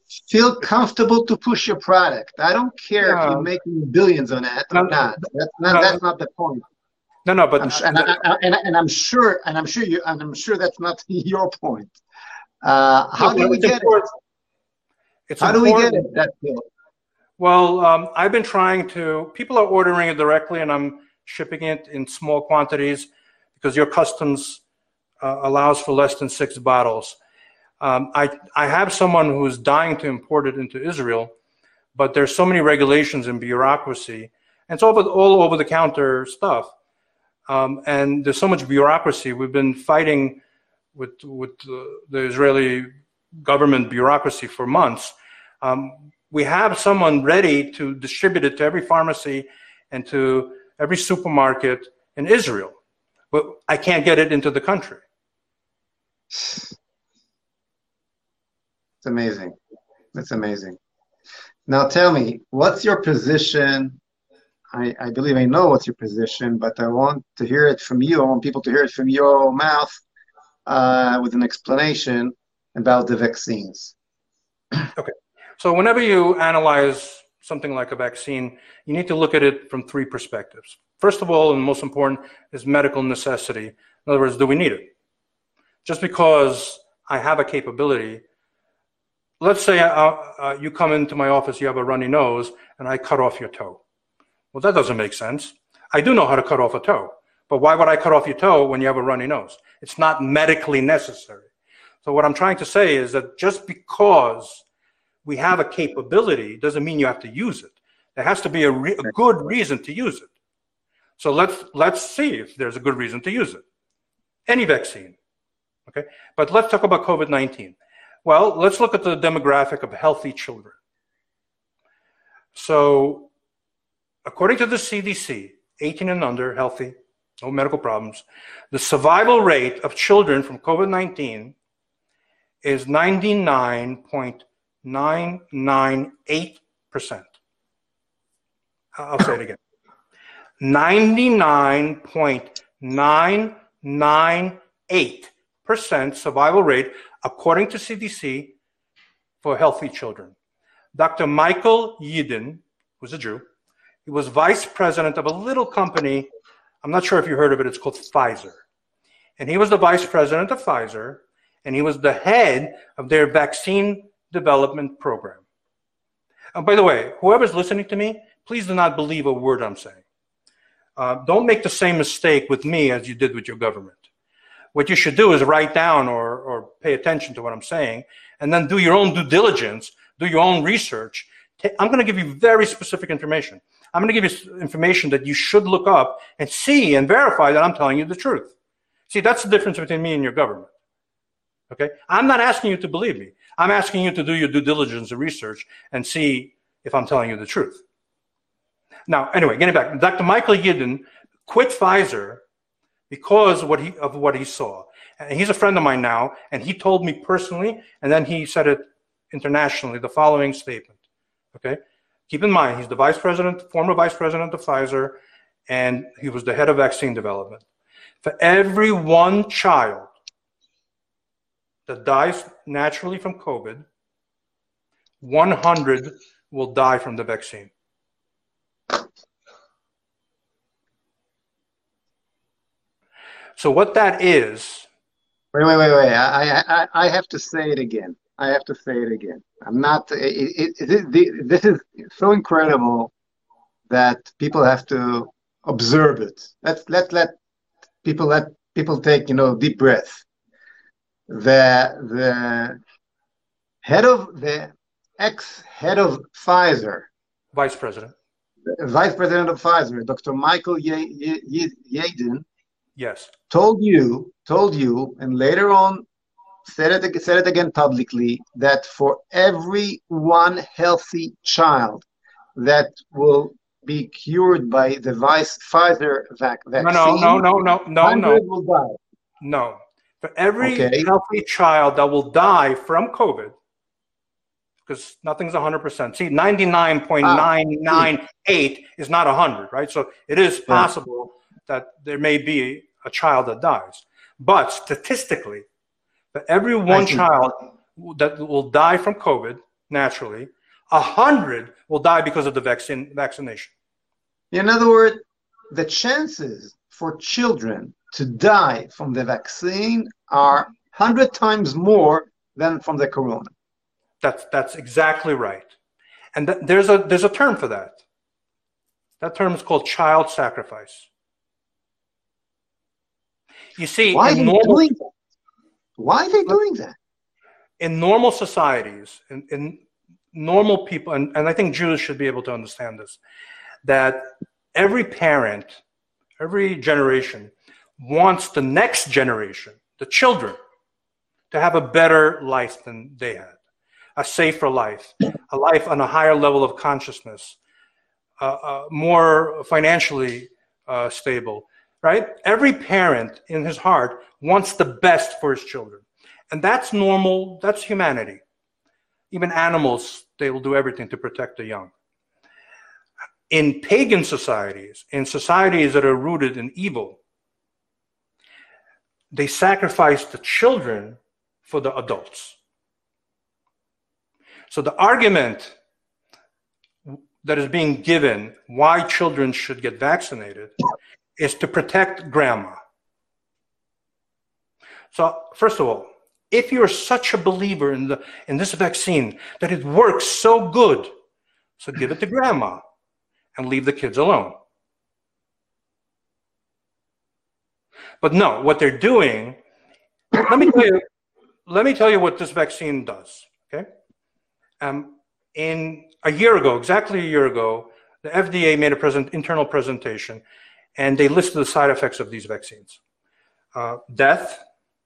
feel comfortable to push your product. I don't care no. if you're making billions on that or no, not. That's not no, that's not the point. No, no, but I'm sure, and, I, I, and, and I'm sure, and I'm sure you, and I'm sure that's not your point. Uh, how do we get it? It's how do we get it? That pill? Well, um, I've been trying to. People are ordering it directly, and I'm shipping it in small quantities because your customs uh, allows for less than six bottles. Um, I I have someone who's dying to import it into Israel, but there's so many regulations and bureaucracy, and it's all over, all over the counter stuff. Um, and there's so much bureaucracy. We've been fighting with with uh, the Israeli government bureaucracy for months. Um, we have someone ready to distribute it to every pharmacy and to every supermarket in Israel, but I can't get it into the country. It's amazing. That's amazing. Now tell me, what's your position? I, I believe I know what's your position, but I want to hear it from you. I want people to hear it from your mouth uh, with an explanation about the vaccines. Okay. So whenever you analyze something like a vaccine, you need to look at it from three perspectives. First of all, and most important, is medical necessity. In other words, do we need it? Just because I have a capability, let's say uh, uh, you come into my office, you have a runny nose, and I cut off your toe. Well, that doesn't make sense. I do know how to cut off a toe, but why would I cut off your toe when you have a runny nose? It's not medically necessary. So what I'm trying to say is that just because we have a capability doesn't mean you have to use it. There has to be a, re a good reason to use it. So let's, let's see if there's a good reason to use it. Any vaccine, okay? But let's talk about COVID nineteen. Well, let's look at the demographic of healthy children. So according to the C D C, eighteen and under, healthy, no medical problems, the survival rate of children from COVID nineteen is ninety-nine point nine nine eight percent. I'll say it again. ninety-nine point nine nine eight percent survival rate, according to C D C, for healthy children. Doctor Michael Yeadon, who's a Jew, he was vice president of a little company. I'm not sure if you heard of it. It's called Pfizer. And he was the vice president of Pfizer, and he was the head of their vaccine development program. And by the way, whoever's listening to me, please do not believe a word I'm saying. Uh, don't make the same mistake with me as you did with your government. What you should do is write down or, or pay attention to what I'm saying, and then do your own due diligence, do your own research. I'm going to give you very specific information. I'm going to give you information that you should look up and see and verify that I'm telling you the truth. See, that's the difference between me and your government. Okay? I'm not asking you to believe me. I'm asking you to do your due diligence and research and see if I'm telling you the truth. Now, anyway, getting back, Doctor Michael Yeadon quit Pfizer because what he, of what he saw. And he's a friend of mine now, and he told me personally, and then he said it internationally, the following statement. Okay? Keep in mind, he's the vice president, former vice president of Pfizer, and he was the head of vaccine development. For every one child that dies naturally from COVID, one hundred will die from the vaccine. So what that is... Wait, wait, wait, wait. I, I, I have to say it again. I have to say it again. I'm not, it, it, it, it, this is so incredible that people have to observe it. Let's let, let people, let people take, you know, deep breath. The, the head of, the ex-head of Pfizer. Vice president. Vice president of Pfizer, Doctor Michael Yeadon. Yes. Told you, told you, and later on said it, said it again publicly, that for every one healthy child that will be cured by the vice Pfizer vac vaccine, no, no, no, no, no, no, will die. No. For every okay. healthy child that will die from COVID, because nothing's one hundred percent. See, ninety-nine point nine nine eight ah, is not one hundred, right? So it is possible yeah. that there may be a child that dies. But statistically, for every one child that will die from COVID, naturally, a hundred will die because of the vaccine vaccination. In other words, the chances for children to die from the vaccine are one hundred times more than from the corona. That's, that's exactly right. And th there's, a, there's a term for that. That term is called child sacrifice. You see, why are they normal, doing that? Why are they doing that? In normal societies, in, in normal people, and, and I think Jews should be able to understand this, that every parent, every generation wants the next generation, the children, to have a better life than they had, a safer life, a life on a higher level of consciousness, uh, uh, more financially uh, stable, right? Every parent in his heart wants the best for his children. And that's normal, that's humanity. Even animals, they will do everything to protect the young. In pagan societies, in societies that are rooted in evil, they sacrifice the children for the adults. So the argument that is being given why children should get vaccinated is to protect grandma. So first of all, if you're such a believer in, the, in this vaccine that it works so good, so give it to grandma and leave the kids alone. But no, what they're doing, let me tell you, let me tell you what this vaccine does, okay? Um, in a year ago, exactly a year ago, the F D A made a present, internal presentation, and they listed the side effects of these vaccines. Uh, death,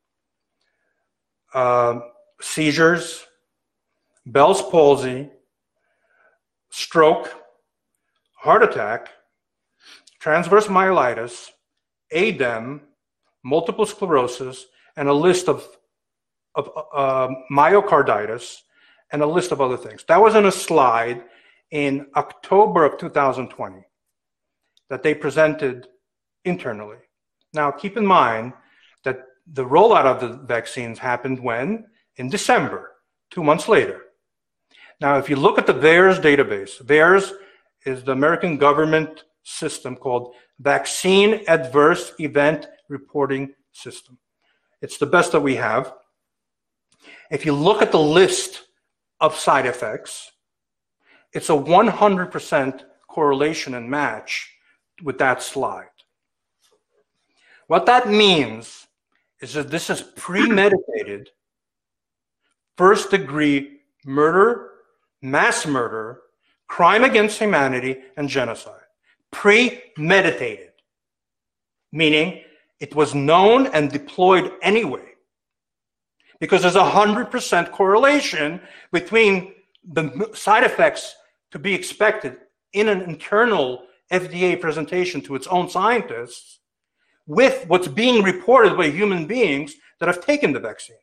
uh, seizures, Bell's palsy, stroke, heart attack, transverse myelitis, A D E M, multiple sclerosis, and a list of, of uh, myocarditis, and a list of other things. That was in a slide in October of two thousand twenty that they presented internally. Now, keep in mind that the rollout of the vaccines happened when? In December, two months later. Now, if you look at the VAERS database, VAERS is the American government system called Vaccine Adverse Event Reporting System. It's the best that we have. If you look at the list of side effects, it's a one hundred percent correlation and match with that slide. What that means is that this is premeditated, first degree murder, mass murder, crime against humanity, and genocide. Premeditated, meaning it was known and deployed anyway, because there's a one hundred percent correlation between the side effects to be expected in an internal F D A presentation to its own scientists with what's being reported by human beings that have taken the vaccine.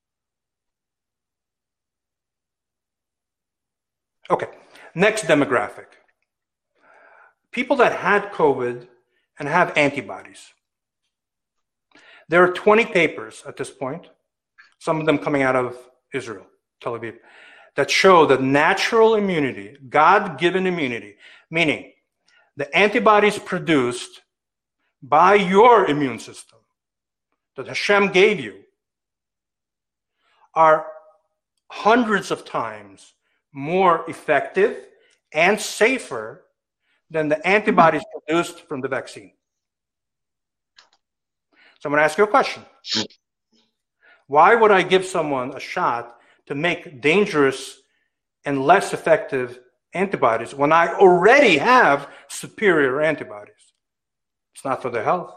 Okay, next demographic. People that had COVID and have antibodies. There are twenty papers at this point, some of them coming out of Israel, Tel Aviv, that show that natural immunity, God-given immunity, meaning the antibodies produced by your immune system that Hashem gave you are hundreds of times more effective and safer than the antibodies produced from the vaccine. So I'm going to ask you a question. Why would I give someone a shot to make dangerous and less effective antibodies when I already have superior antibodies? It's not for their health.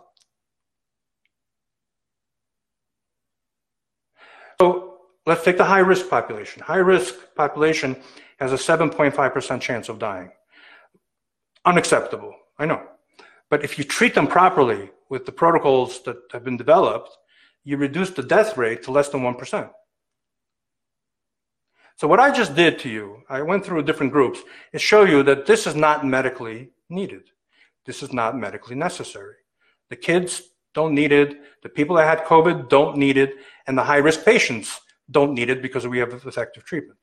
So let's take the high-risk population. High-risk population has a seven point five percent chance of dying. Unacceptable, I know. But if you treat them properly with the protocols that have been developed, you reduce the death rate to less than one percent. So what I just did to you, I went through different groups, is show you that this is not medically needed. This is not medically necessary. The kids don't need it. The people that had COVID don't need it. And the high-risk patients don't need it because we have effective treatments.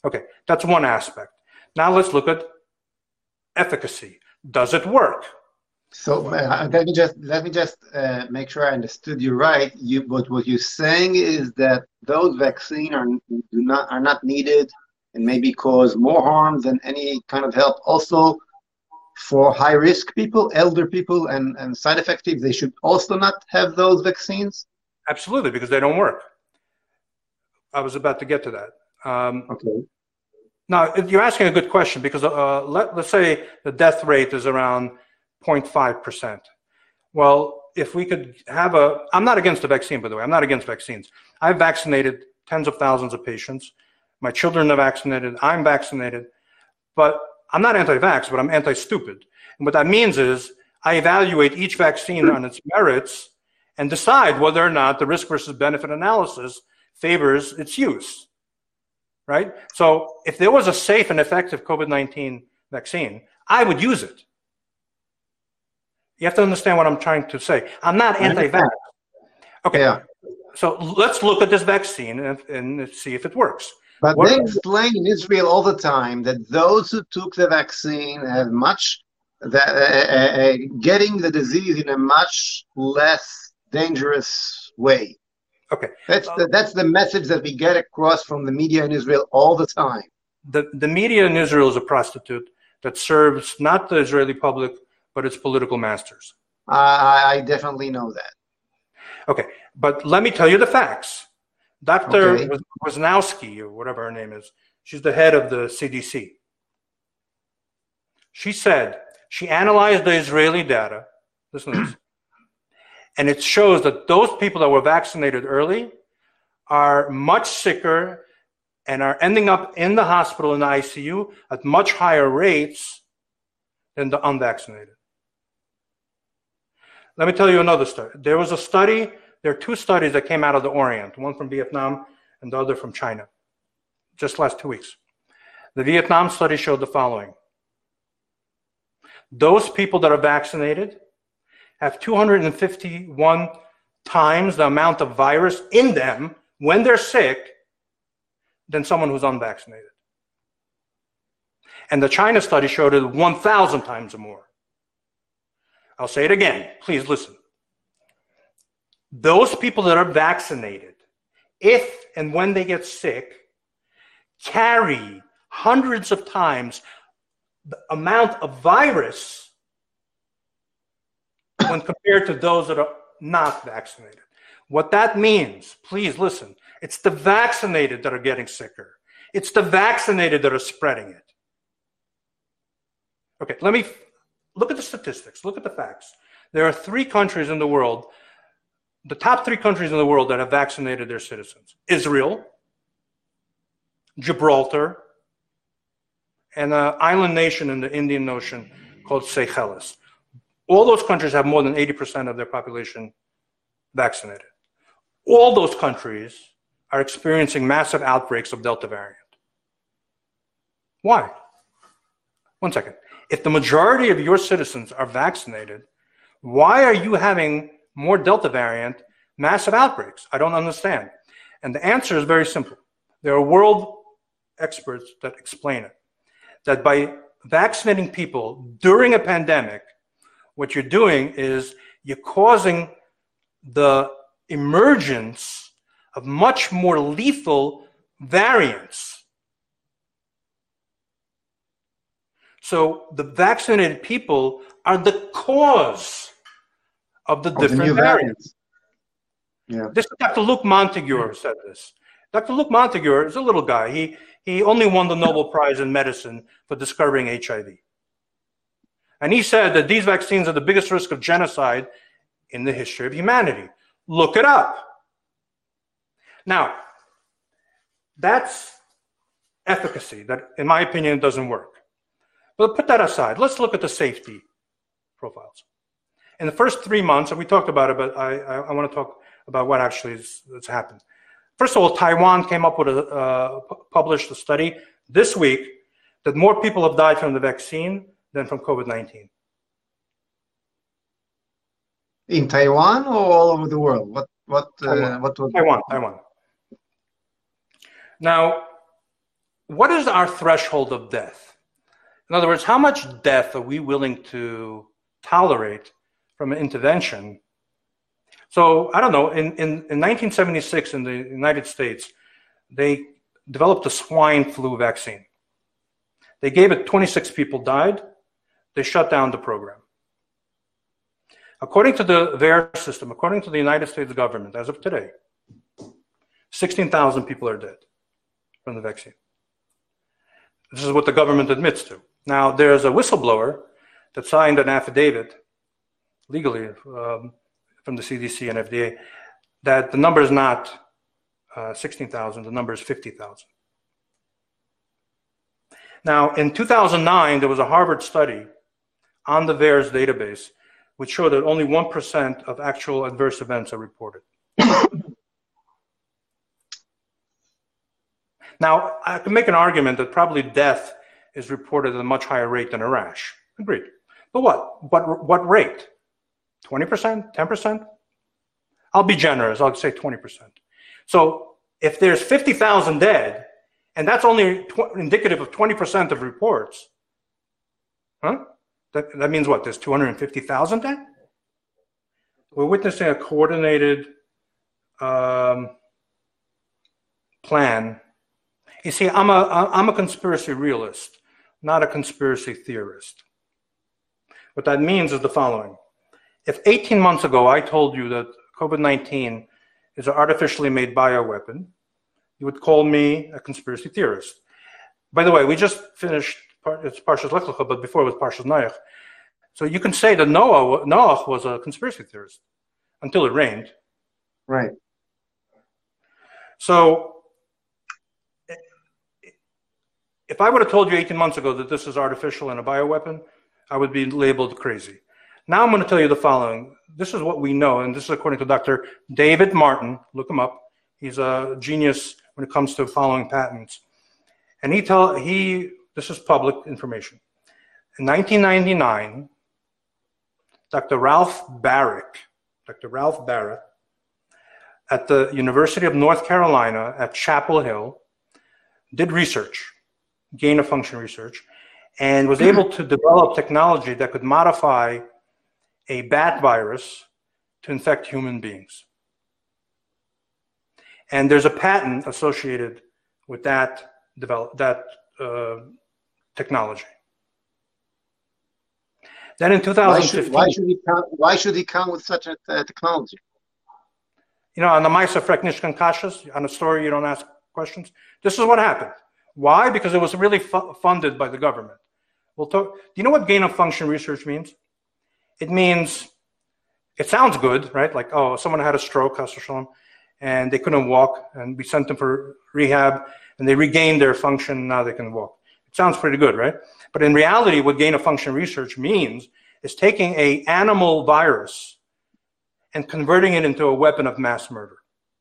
Okay, that's one aspect. Now let's look at efficacy. Does it work? So uh, let me just let me just uh, make sure I understood you right. You, but what you're saying is that those vaccines are do not are not needed and maybe cause more harm than any kind of help. Also, for high risk people, elder people, and and side effective, they should also not have those vaccines. Absolutely, because they don't work. I was about to get to that. Um, okay. Now, you're asking a good question because uh, let, let's say the death rate is around zero point five percent. Well, if we could have a, I'm not against the vaccine, by the way. I'm not against vaccines. I've vaccinated tens of thousands of patients. My children are vaccinated. I'm vaccinated. But I'm not anti-vax, but I'm anti-stupid. And what that means is I evaluate each vaccine on its merits and decide whether or not the risk versus benefit analysis favors its use. Right? So if there was a safe and effective COVID nineteen vaccine, I would use it. You have to understand what I'm trying to say. I'm not anti-vax. Okay. Yeah. So let's look at this vaccine and, and see if it works. But what they explain in Israel all the time that those who took the vaccine have much, that, uh, uh, getting the disease in a much less dangerous way. Okay. That's the, that's the message that we get across from the media in Israel all the time. The, the media in Israel is a prostitute that serves not the Israeli public, but its political masters. I, I definitely know that. Okay. But let me tell you the facts. Doctor Okay. Wisnowski, or whatever her name is, she's the head of the C D C. She said she analyzed the Israeli data. Listen to this. And it shows that those people that were vaccinated early are much sicker and are ending up in the hospital in the I C U at much higher rates than the unvaccinated. Let me tell you another story. There was a study, there are two studies that came out of the Orient, one from Vietnam and the other from China, just last two weeks. The Vietnam study showed the following. Those people that are vaccinated have two hundred fifty-one times the amount of virus in them when they're sick than someone who's unvaccinated. And the China study showed it one thousand times or more. I'll say it again. Please listen. Those people that are vaccinated, if and when they get sick, carry hundreds of times the amount of virus when compared to those that are not vaccinated. What that means, please listen, it's the vaccinated that are getting sicker. It's the vaccinated that are spreading it. Okay, let me look at the statistics, look at the facts. There are three countries in the world, the top three countries in the world that have vaccinated their citizens. Israel, Gibraltar, and an island nation in the Indian Ocean called Seychelles. All those countries have more than eighty percent of their population vaccinated. All those countries are experiencing massive outbreaks of Delta variant. Why? One second. If the majority of your citizens are vaccinated, why are you having more Delta variant massive outbreaks? I don't understand. And the answer is very simple. There are world experts that explain it. That by vaccinating people during a pandemic, what you're doing is you're causing the emergence of much more lethal variants. So the vaccinated people are the cause of the of different the new variants. variants. Yeah. This Doctor Luc Montagure said this. Doctor Luc Montagure is a little guy. He, he only won the Nobel Prize in medicine for discovering H I V. And he said that these vaccines are the biggest risk of genocide in the history of humanity. Look it up. Now, that's efficacy that, in my opinion, doesn't work. But put that aside. Let's look at the safety profiles. In the first three months, and we talked about it, but I, I, I want to talk about what actually has, has happened. First of all, Taiwan came up with a, uh, published a study this week that more people have died from the vaccine than from COVID nineteen. In Taiwan or all over the world? What what uh, Taiwan. what was Taiwan, Taiwan. Now, what is our threshold of death? In other words, how much death are we willing to tolerate from an intervention? So I don't know, in, in, in nineteen seventy-six in the United States, they developed a swine flu vaccine. They gave it, twenty-six people died. They shut down the program. According to the V A E R system, according to the United States government, as of today, sixteen thousand people are dead from the vaccine. This is what the government admits to. Now, there's a whistleblower that signed an affidavit legally um, from the C D C and F D A that the number is not uh, sixteen thousand, the number is fifty thousand. Now, in two thousand nine, there was a Harvard study on the V A E R's database which showed that only one percent of actual adverse events are reported. Now, I can make an argument that probably death is reported at a much higher rate than a rash. Agreed. But what? What, what rate? twenty percent? ten percent? I'll be generous. I'll say twenty percent. So if there's fifty thousand dead, and that's only indicative of twenty percent of reports, huh? That, that means what? There's two hundred fifty thousand dead? We're witnessing a coordinated um, plan. You see, I'm a, I'm a conspiracy realist, not a conspiracy theorist. What that means is the following. If eighteen months ago I told you that COVID nineteen is an artificially made bioweapon, you would call me a conspiracy theorist. By the way, we just finished, it's Parshas Lech Lecha, but before it was Parshas Noach. So you can say that Noah, Noach was a conspiracy theorist until it rained. Right. So if I would have told you eighteen months ago that this is artificial and a bioweapon, I would be labeled crazy. Now I'm going to tell you the following. This is what we know, and this is according to Doctor David Martin. Look him up. He's a genius when it comes to following patents. And he tell he this is public information. In nineteen ninety-nine, Doctor Ralph Barrick, Doctor Ralph Barrett, at the University of North Carolina at Chapel Hill, did research, gain of function research, and was able to develop technology that could modify a bat virus to infect human beings. And there's a patent associated with that develop that uh, technology. Then in two thousand fifteen, why should, why should he come? Why should he come with such a uh, technology? You know, on the Maisa Freknishkan Kashas, on a story you don't ask questions. This is what happened. Why? Because it was really fu funded by the government. We'll talk. Do you know what gain of function research means? It means, it sounds good, right? Like, oh, someone had a stroke, and they couldn't walk, and we sent them for rehab, and they regained their function, and now they can walk. It sounds pretty good, right? But in reality, what gain of function research means is taking an animal virus and converting it into a weapon of mass murder.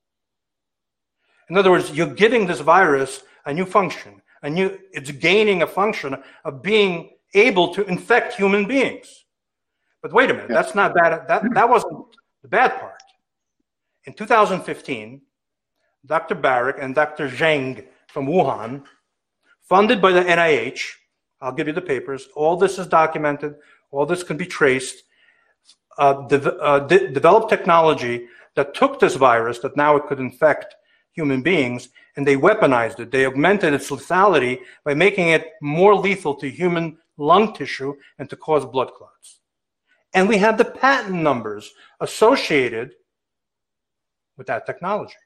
In other words, you're giving this virus a new function, a new, it's gaining a function of being able to infect human beings. But wait a minute, that's not bad. That, that wasn't the bad part. In two thousand fifteen, Doctor Barrick and Doctor Zheng from Wuhan, funded by the N I H, I'll give you the papers, all this is documented, all this can be traced, uh, de uh, de developed technology that took this virus that now it could infect human beings, and they weaponized it. They augmented its lethality by making it more lethal to human lung tissue and to cause blood clots. And we have the patent numbers associated with that technology.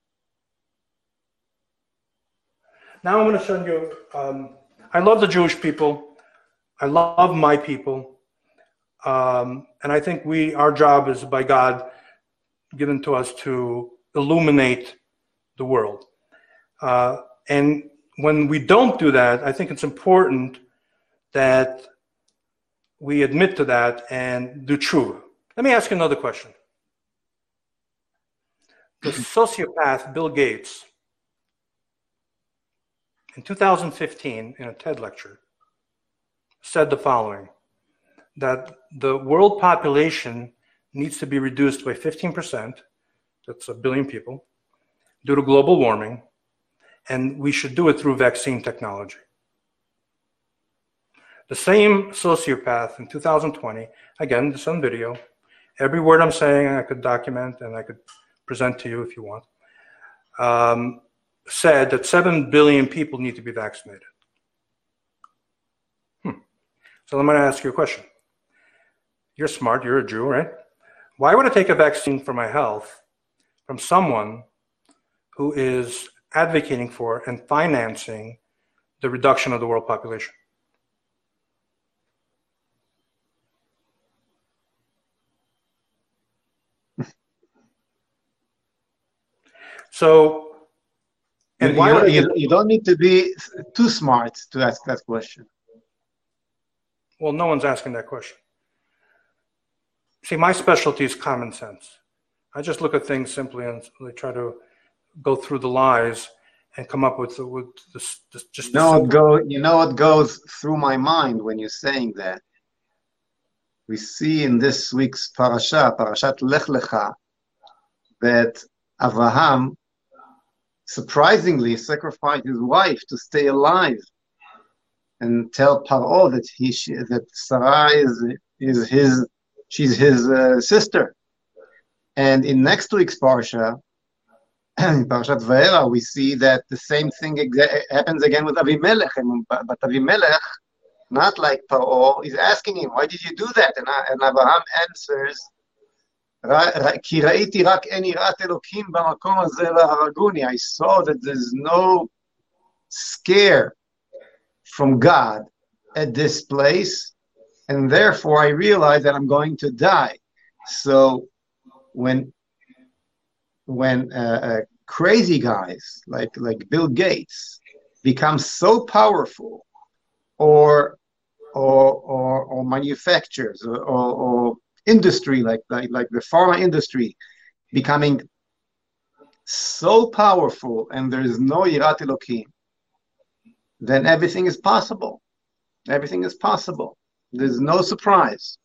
Now I'm going to show you, um, I love the Jewish people. I love my people. Um, and I think we, our job is by God given to us to illuminate the world. Uh, and when we don't do that, I think it's important that we admit to that and do tshuva. Let me ask you another question. The sociopath Bill Gates, in two thousand fifteen, in a TED lecture, said the following, that the world population needs to be reduced by fifteen percent, that's a billion people, due to global warming, and we should do it through vaccine technology. The same sociopath in two thousand twenty, again, this on video, every word I'm saying I could document and I could present to you if you want, um, said that seven billion people need to be vaccinated. Hmm. So I'm going to ask you a question. You're smart, you're a Jew, right? Why would I take a vaccine for my health from someone who is advocating for and financing the reduction of the world population? So, and you, why you, would you, you don't need to be too smart to ask that question. Well, no one's asking that question. See, my specialty is common sense. I just look at things simply and try to go through the lies and come up with, with this, this just. You know, what go, you know what goes through my mind when you're saying that? We see in this week's parasha, Parashat Lech Lecha, that Avraham surprisingly sacrificed his wife to stay alive and tell Paro that he that Sarah is is his she's his uh, sister. And in next week's parsha, Parashat Vayera, we see that the same thing happens again with Avimelech. And, but Avimelech, not like Paro, is asking him, "Why did you do that?" And, and Abraham answers, "Ki ra'iti rak en yirat Elokim b'makom hazeh v'haraguni." I saw that there's no scare from God at this place, and therefore I realized that I'm going to die. So when when uh, uh, crazy guys like like Bill Gates become so powerful, or or or, or manufacturers or, or, or industry like, like like the pharma industry becoming so powerful, and there is no Yirat Elokim, then everything is possible. Everything is possible. There's no surprise.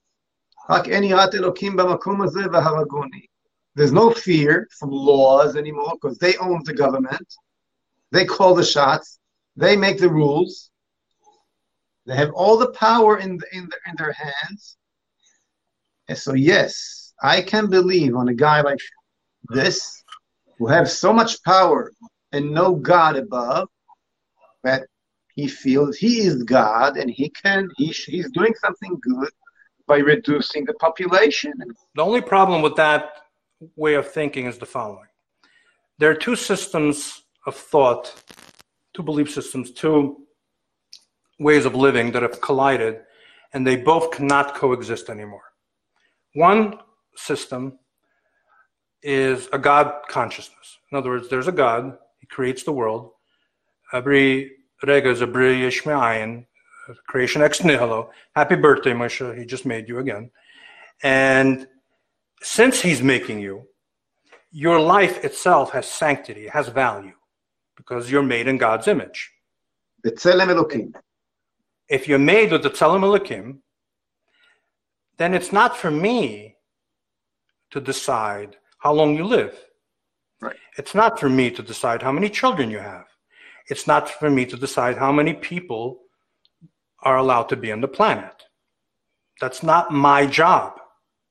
There's no fear from laws anymore because they own the government. They call the shots. They make the rules. They have all the power in, the, in, the, in their hands. And so, yes, I can believe on a guy like this who has so much power and no God above, that he feels he is God and he can he, he's doing something good by reducing the population. The only problem with that way of thinking is the following. There are two systems of thought, two belief systems, two ways of living that have collided, and they both cannot coexist anymore. One system is a God consciousness. In other words, there's a God, he creates the world. Every rega is a bri yesh me'ayin, creation ex nihilo. Happy birthday, Moshe, he just made you again. And since he's making you, your life itself has sanctity, it has value, because you're made in God's image. B'tzelem Elokim. If you're made with the Tzelem Elokim, then it's not for me to decide how long you live. Right. It's not for me to decide how many children you have. It's not for me to decide how many people are allowed to be on the planet. That's not my job.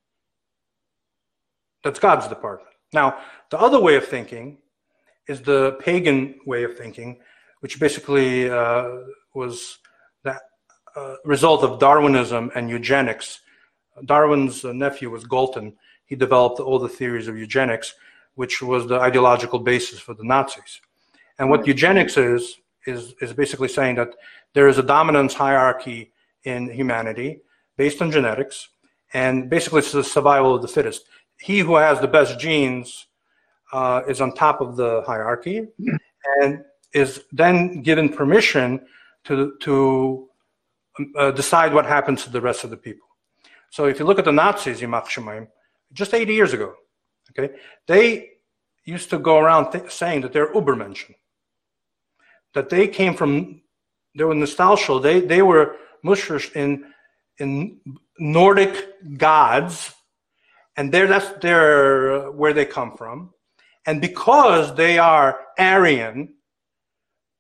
That's God's department. Now, the other way of thinking is the pagan way of thinking, which basically uh, was the uh, result of Darwinism and eugenics. Darwin's uh, nephew was Galton. He developed all the theories of eugenics, which was the ideological basis for the Nazis. And what eugenics is, is, is basically saying that there is a dominance hierarchy in humanity based on genetics, and basically it's the survival of the fittest. He who has the best genes uh, is on top of the hierarchy and is then given permission to, to uh, decide what happens to the rest of the people. So if you look at the Nazis, Yimach Shemaim, just eighty years ago, okay, they used to go around th- saying that they're Ubermenschen, that they came from, they were nostalgia, they, they were mushrish in, in Nordic gods, and they're, that's their, where they come from. And because they are Aryan,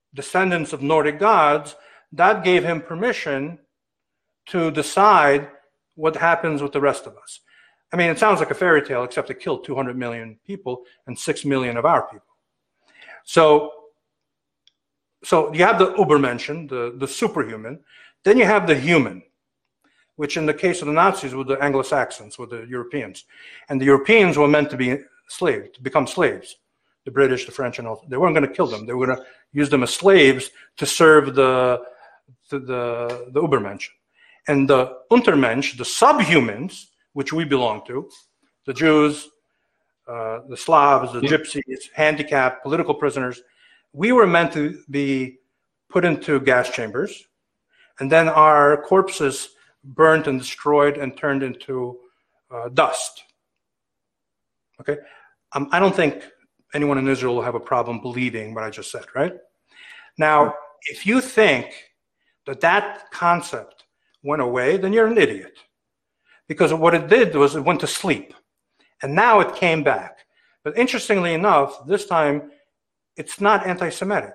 descendants of Nordic gods, that gave him permission to decide what happens with the rest of us. I mean, it sounds like a fairy tale, except it killed two hundred million people and six million of our people. So, so you have the Übermenschen, the, the superhuman. Then you have the human, which in the case of the Nazis were the Anglo-Saxons, were the Europeans. And the Europeans were meant to be slaves, to become slaves. The British, the French, and all. They weren't going to kill them. They were going to use them as slaves to serve the, the, the, the Übermenschen. And the Untermensch, the subhumans, which we belong to, the Jews, uh, the Slavs, the Gypsies, handicapped, political prisoners, we were meant to be put into gas chambers, and then our corpses burnt and destroyed and turned into uh, dust. Okay? Um, I don't think anyone in Israel will have a problem believing what I just said, right? Now, if you think that that concept went away, then you're an idiot. Because what it did was it went to sleep. And now it came back. But interestingly enough, this time, it's not anti-Semitic.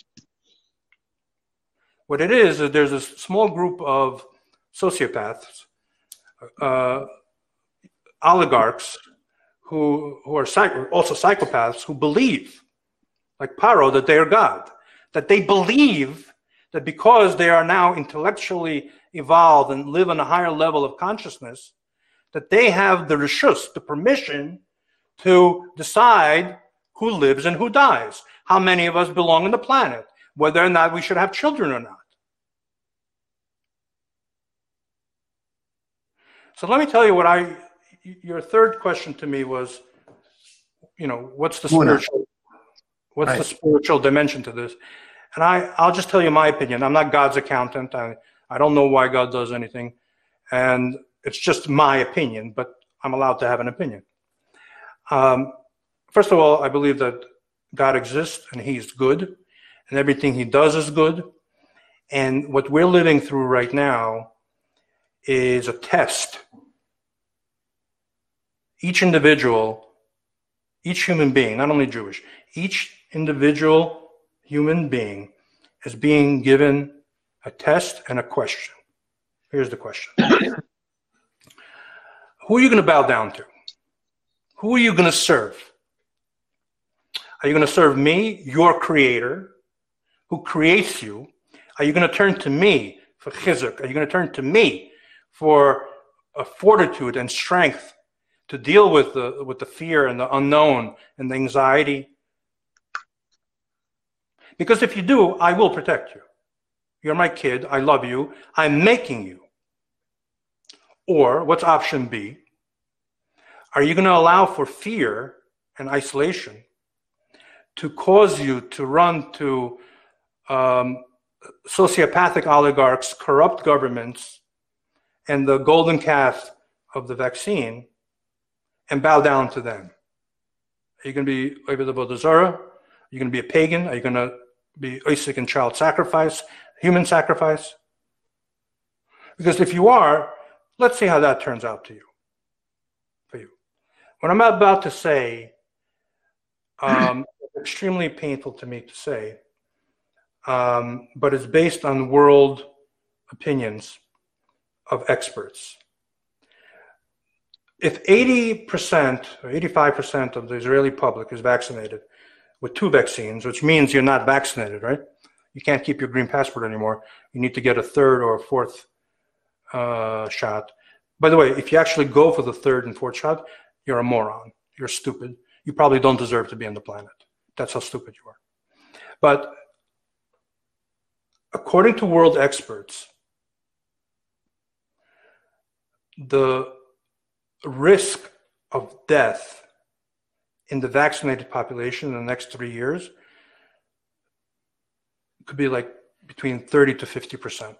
What it is, is there's a small group of sociopaths, uh, oligarchs, who, who are psych- also psychopaths, who believe, like Paro, that they are God. That they believe that because they are now intellectually evolved and live on a higher level of consciousness, that they have the reshus, the permission to decide who lives and who dies, how many of us belong on the planet, whether or not we should have children or not. So let me tell you what I, your third question to me was, you know, what's the spiritual, what's right. the spiritual dimension to this? And I, I'll just tell you my opinion. I'm not God's accountant. I, I don't know why God does anything. And it's just my opinion, but I'm allowed to have an opinion. Um, first of all, I believe that God exists and he's good and everything he does is good. And what we're living through right now is a test. Each individual, each human being, not only Jewish, each individual human being is being given a test and a question. Here's the question. Who are you going to bow down to? Who are you going to serve? Are you going to serve me, your creator, who creates you? Are you going to turn to me for chizuk? Are you going to turn to me for a fortitude and strength to deal with the, with the fear and the unknown and the anxiety? Because if you do, I will protect you. You're my kid. I love you. I'm making you. Or what's option B? Are you going to allow for fear and isolation to cause you to run to um, sociopathic oligarchs, corrupt governments, and the golden calf of the vaccine and bow down to them? Are you going to be Oived Avodah Zarah? Are you going to be a pagan? Are you going to be Isaac and child sacrifice, human sacrifice? Because if you are, let's see how that turns out to you, for you. What I'm about to say, um, extremely painful to me to say, um, but it's based on world opinions of experts. If eighty percent or eighty-five percent of the Israeli public is vaccinated with two vaccines, which means you're not vaccinated, right? You can't keep your green passport anymore. You need to get a third or a fourth uh, shot. By the way, if you actually go for the third and fourth shot, you're a moron. You're stupid. You probably don't deserve to be on the planet. That's how stupid you are. But according to world experts, the risk of death in the vaccinated population in the next three years could be like between thirty to fifty percent.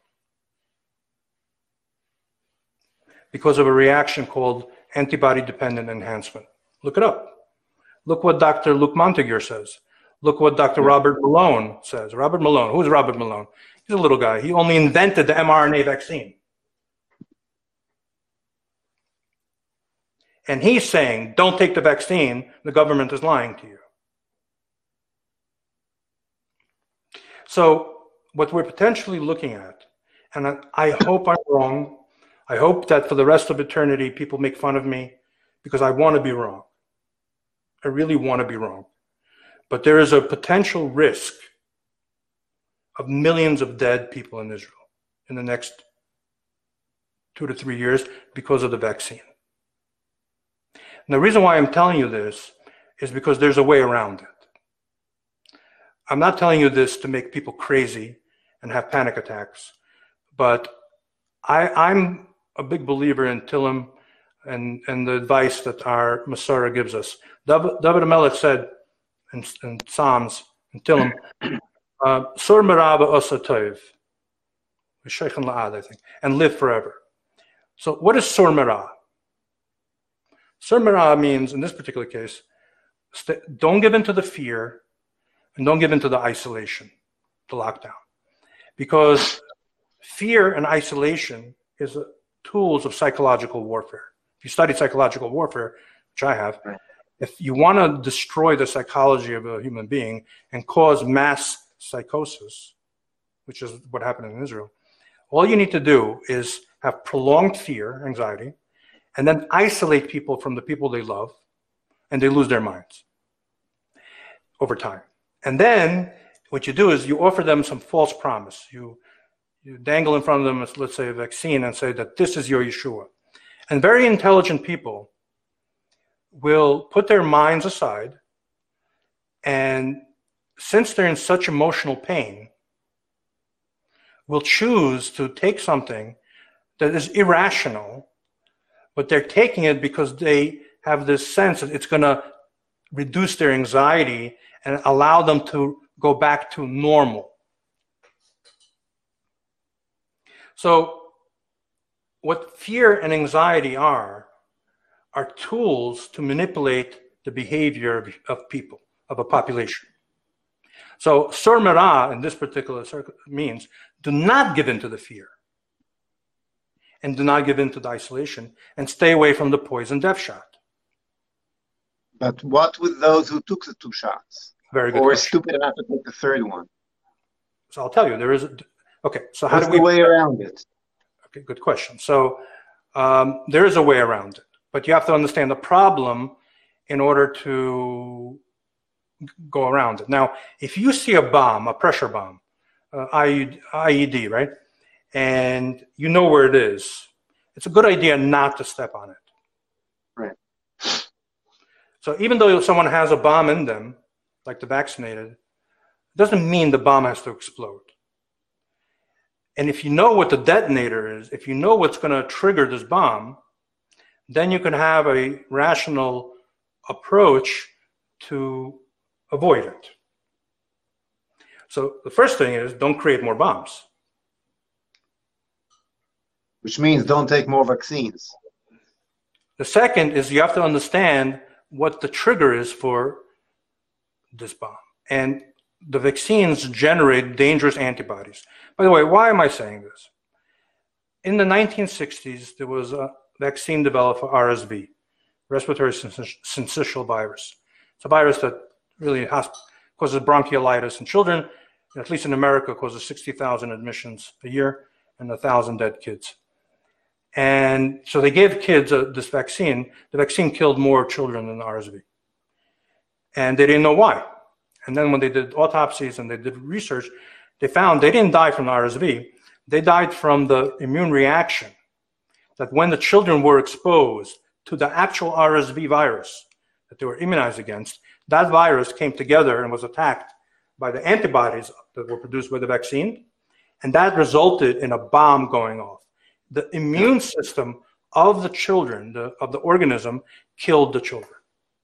Because of a reaction called antibody-dependent enhancement. Look it up. Look what Doctor Luc Montagnier says. Look what Doctor Robert Malone says. Robert Malone. Who's Robert Malone? He's a little guy. He only invented the mRNA vaccine. And he's saying, don't take the vaccine. The government is lying to you. So what we're potentially looking at, and I, I hope I'm wrong, I hope that for the rest of eternity, people make fun of me because I want to be wrong. I really want to be wrong. But there is a potential risk of millions of dead people in Israel in the next two to three years because of the vaccine. And the reason why I'm telling you this is because there's a way around it. I'm not telling you this to make people crazy and have panic attacks, but I, I'm a big believer in Tillim and, and the advice that our Masorah gives us. David, David HaMelech said in, in Psalms, in Tillim, Sur merava osa tov, v'sheichen la'ad, I think, and live forever. So what is Sur merah? Sur merah means, in this particular case, don't give in to the fear and don't give in to the isolation, the lockdown. Because fear and isolation is a, tools of psychological warfare. If you study psychological warfare, which I have, right. If you want to destroy the psychology of a human being and cause mass psychosis, which is what happened in Israel, all you need to do is have prolonged fear, anxiety, and then isolate people from the people they love, and they lose their minds over time. And then what you do is you offer them some false promise. You, you dangle in front of them, let's say, a vaccine and say that this is your Yeshua. And very intelligent people will put their minds aside, and since they're in such emotional pain, will choose to take something that is irrational, but they're taking it because they have this sense that it's going to reduce their anxiety and allow them to go back to normal. So what fear and anxiety are, are tools to manipulate the behavior of, of people, of a population. So Sur merah in this particular circle means do not give in to the fear and do not give in to the isolation and stay away from the poison death shot. But what with those who took the two shots? Very good Or question. stupid enough to take the third one? So I'll tell you, there is a, okay, so how What's do we- the way around it? Okay, good question. So um, there is a way around it, but you have to understand the problem in order to go around it. Now, if you see a bomb, a pressure bomb, uh, I E D, right? And you know where it is, it's a good idea not to step on it. Right. So even though someone has a bomb in them, like the vaccinated, it doesn't mean the bomb has to explode. And if you know what the detonator is, if you know what's going to trigger this bomb, then you can have a rational approach to avoid it. So the first thing is don't create more bombs. Which means don't take more vaccines. The second is you have to understand what the trigger is for this bomb. And the vaccines generate dangerous antibodies. By the way, why am I saying this? In the nineteen sixties, there was a vaccine developed for R S V, respiratory syncytial virus. It's a virus that really has, causes bronchiolitis in children, and at least in America, causes sixty thousand admissions a year and one thousand dead kids. And so they gave kids uh, this vaccine. The vaccine killed more children than R S V. And they didn't know why. And then when they did autopsies and they did research, they found they didn't die from the R S V. They died from the immune reaction that when the children were exposed to the actual R S V virus that they were immunized against, that virus came together and was attacked by the antibodies that were produced by the vaccine. And that resulted in a bomb going off. The immune system of the children, the, of the organism, killed the children.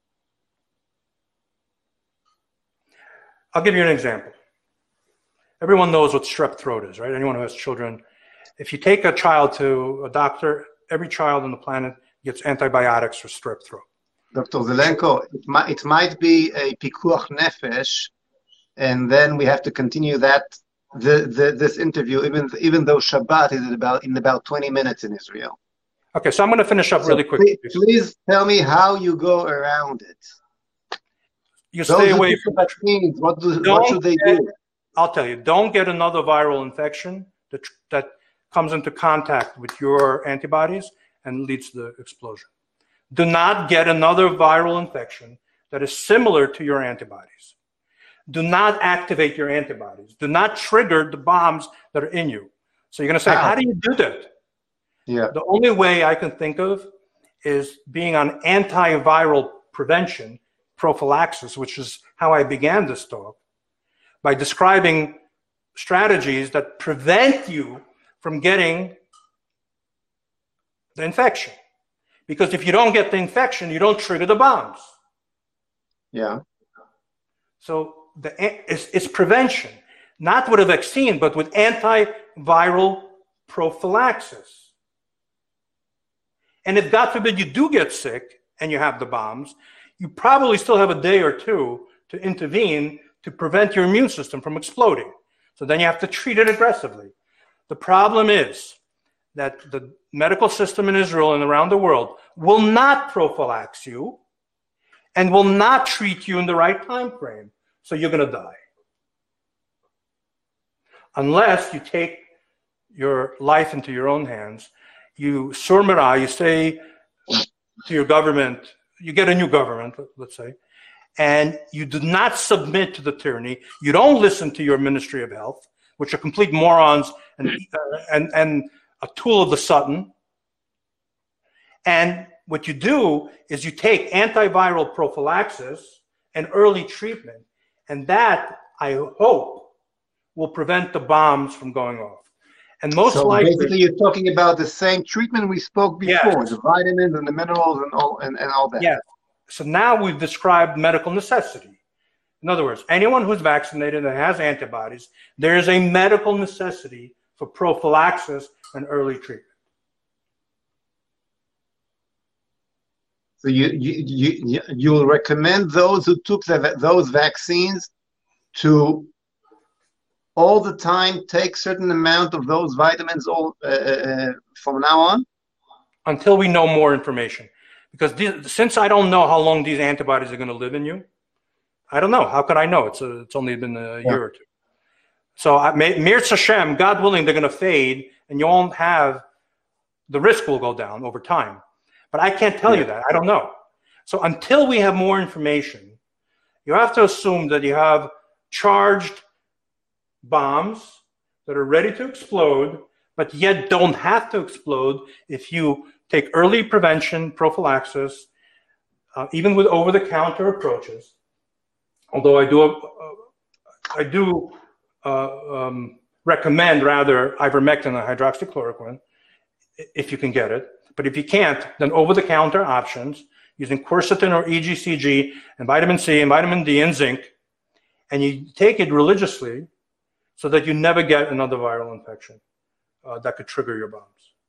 I'll give you an example. Everyone knows what strep throat is, right? Anyone who has children. If you take a child to a doctor, every child on the planet gets antibiotics for strep throat. Doctor Zelenko, it might, it might be a pikuach nefesh, and then we have to continue that the, the this interview, even even though Shabbat is about in about twenty minutes in Israel. Okay, so I'm going to finish up so really quickly. Please, please tell me how you go around it. You Those stay away from vaccines. What do don't what should they get, do? I'll tell you, don't get another viral infection that, that comes into contact with your antibodies and leads to the explosion. Do not get another viral infection that is similar to your antibodies. Do not activate your antibodies. Do not trigger the bombs that are in you. So you're going to say, how do you do that? Yeah. The only way I can think of is being on antiviral prevention, prophylaxis, which is how I began this talk, by describing strategies that prevent you from getting the infection. Because if you don't get the infection, you don't trigger the bombs. Yeah. So the, it's, it's prevention, not with a vaccine, but with antiviral prophylaxis. And if, God forbid, you do get sick and you have the bombs, you probably still have a day or two to intervene to prevent your immune system from exploding. So then you have to treat it aggressively. The problem is that the medical system in Israel and around the world will not prophylax you and will not treat you in the right time frame. So you're going to die. Unless you take your life into your own hands, you surmira, you say to your government, you get a new government, let's say, and you do not submit to the tyranny. You don't listen to your Ministry of Health, which are complete morons and, uh, and, and a tool of the Satan. And what you do is you take antiviral prophylaxis and early treatment, and that, I hope, will prevent the bombs from going off. And most so likely, basically, you're talking about the same treatment we spoke before, yes. the vitamins and the minerals and all and, and all that. Yes. So now we've described medical necessity. In other words, anyone who's vaccinated and has antibodies, there is a medical necessity for prophylaxis and early treatment. So you you you you will recommend those who took the, those vaccines to all the time take certain amount of those vitamins all uh, uh, from now on? Until we know more information. Because these, since I don't know how long these antibodies are going to live in you, I don't know. How could I know? It's a, it's only been a yeah. year or two. So I, Mirz Hashem, God willing, they're going to fade, and you won't have, the risk will go down over time. But I can't tell yeah. you that. I don't know. So until we have more information, you have to assume that you have charged bombs that are ready to explode, but yet don't have to explode if you take early prevention, prophylaxis, uh, even with over-the-counter approaches. Although I do, uh, I do uh, um, recommend rather ivermectin and hydroxychloroquine if you can get it. But if you can't, then over-the-counter options using quercetin or E G C G and vitamin C and vitamin D and zinc, and you take it religiously so that you never get another viral infection uh, that could trigger your bombs.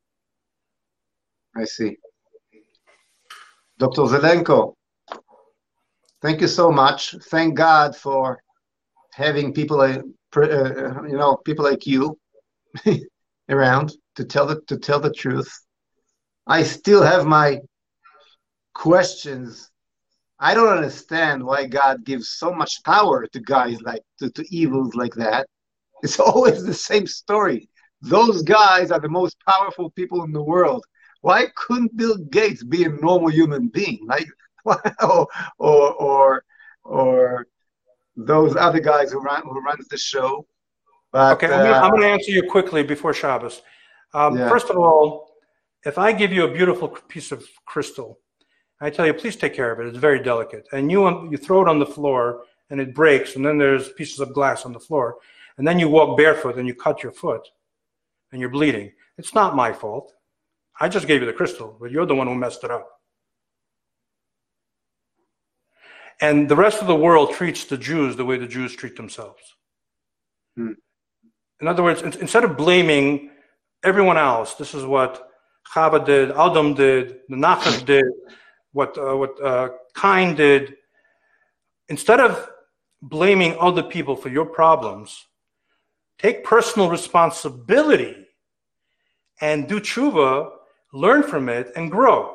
I see. Doctor Zelenko, thank you so much. Thank God for having people, uh, uh, you know, people like you around to tell the to tell the truth. I still have my questions. I don't understand why God gives so much power to guys like to, to evils like that. It's always the same story. Those guys are the most powerful people in the world. Why couldn't Bill Gates be a normal human being, like, or or or, or those other guys who run who runs the show? But, okay, uh, I'm going to answer you quickly before Shabbos. Um, yeah. First of all, if I give you a beautiful piece of crystal, I tell you, please take care of it. It's very delicate, and you you throw it on the floor and it breaks, and then there's pieces of glass on the floor, and then you walk barefoot and you cut your foot, and you're bleeding. It's not my fault. I just gave you the crystal, but you're the one who messed it up. And the rest of the world treats the Jews the way the Jews treat themselves. Hmm. In other words, instead of blaming everyone else, this is what Chava did, Adam did, the Nachash did, what, uh, what uh, Cain did. Instead of blaming other people for your problems, take personal responsibility and do tshuva, learn from it, and grow.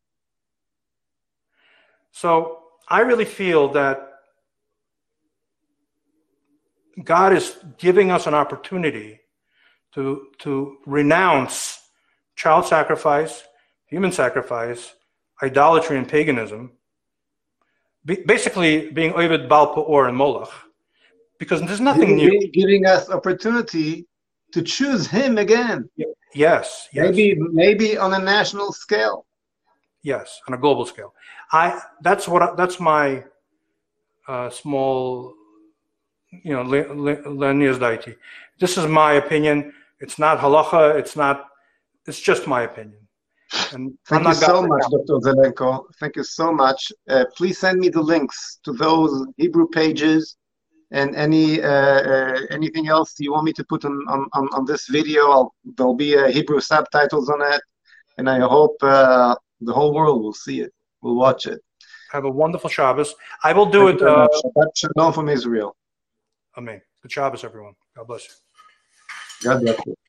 So I really feel that God is giving us an opportunity to, to renounce child sacrifice, human sacrifice, idolatry and paganism, basically being Oved Baal Peor and Moloch, because there's nothing giving, new. Giving us opportunity to choose him again. Yes, yes. Maybe, maybe on a national scale. Yes, on a global scale. I that's what I, that's my uh, small, you know, Lenius deity. This is my opinion. It's not halacha. It's not. It's just my opinion. And thank you so much, Doctor Zelenko. Thank you so much. Uh, please send me the links to those Hebrew pages and any uh, uh, anything else you want me to put on on, on this video. I'll, there'll be uh, Hebrew subtitles on it, and I hope uh, the whole world will see it, will watch it. Have a wonderful Shabbos. I will do Thank it. Uh, Shabbat Shalom from Israel. Amen. Good Shabbos, everyone. God bless you. God bless you.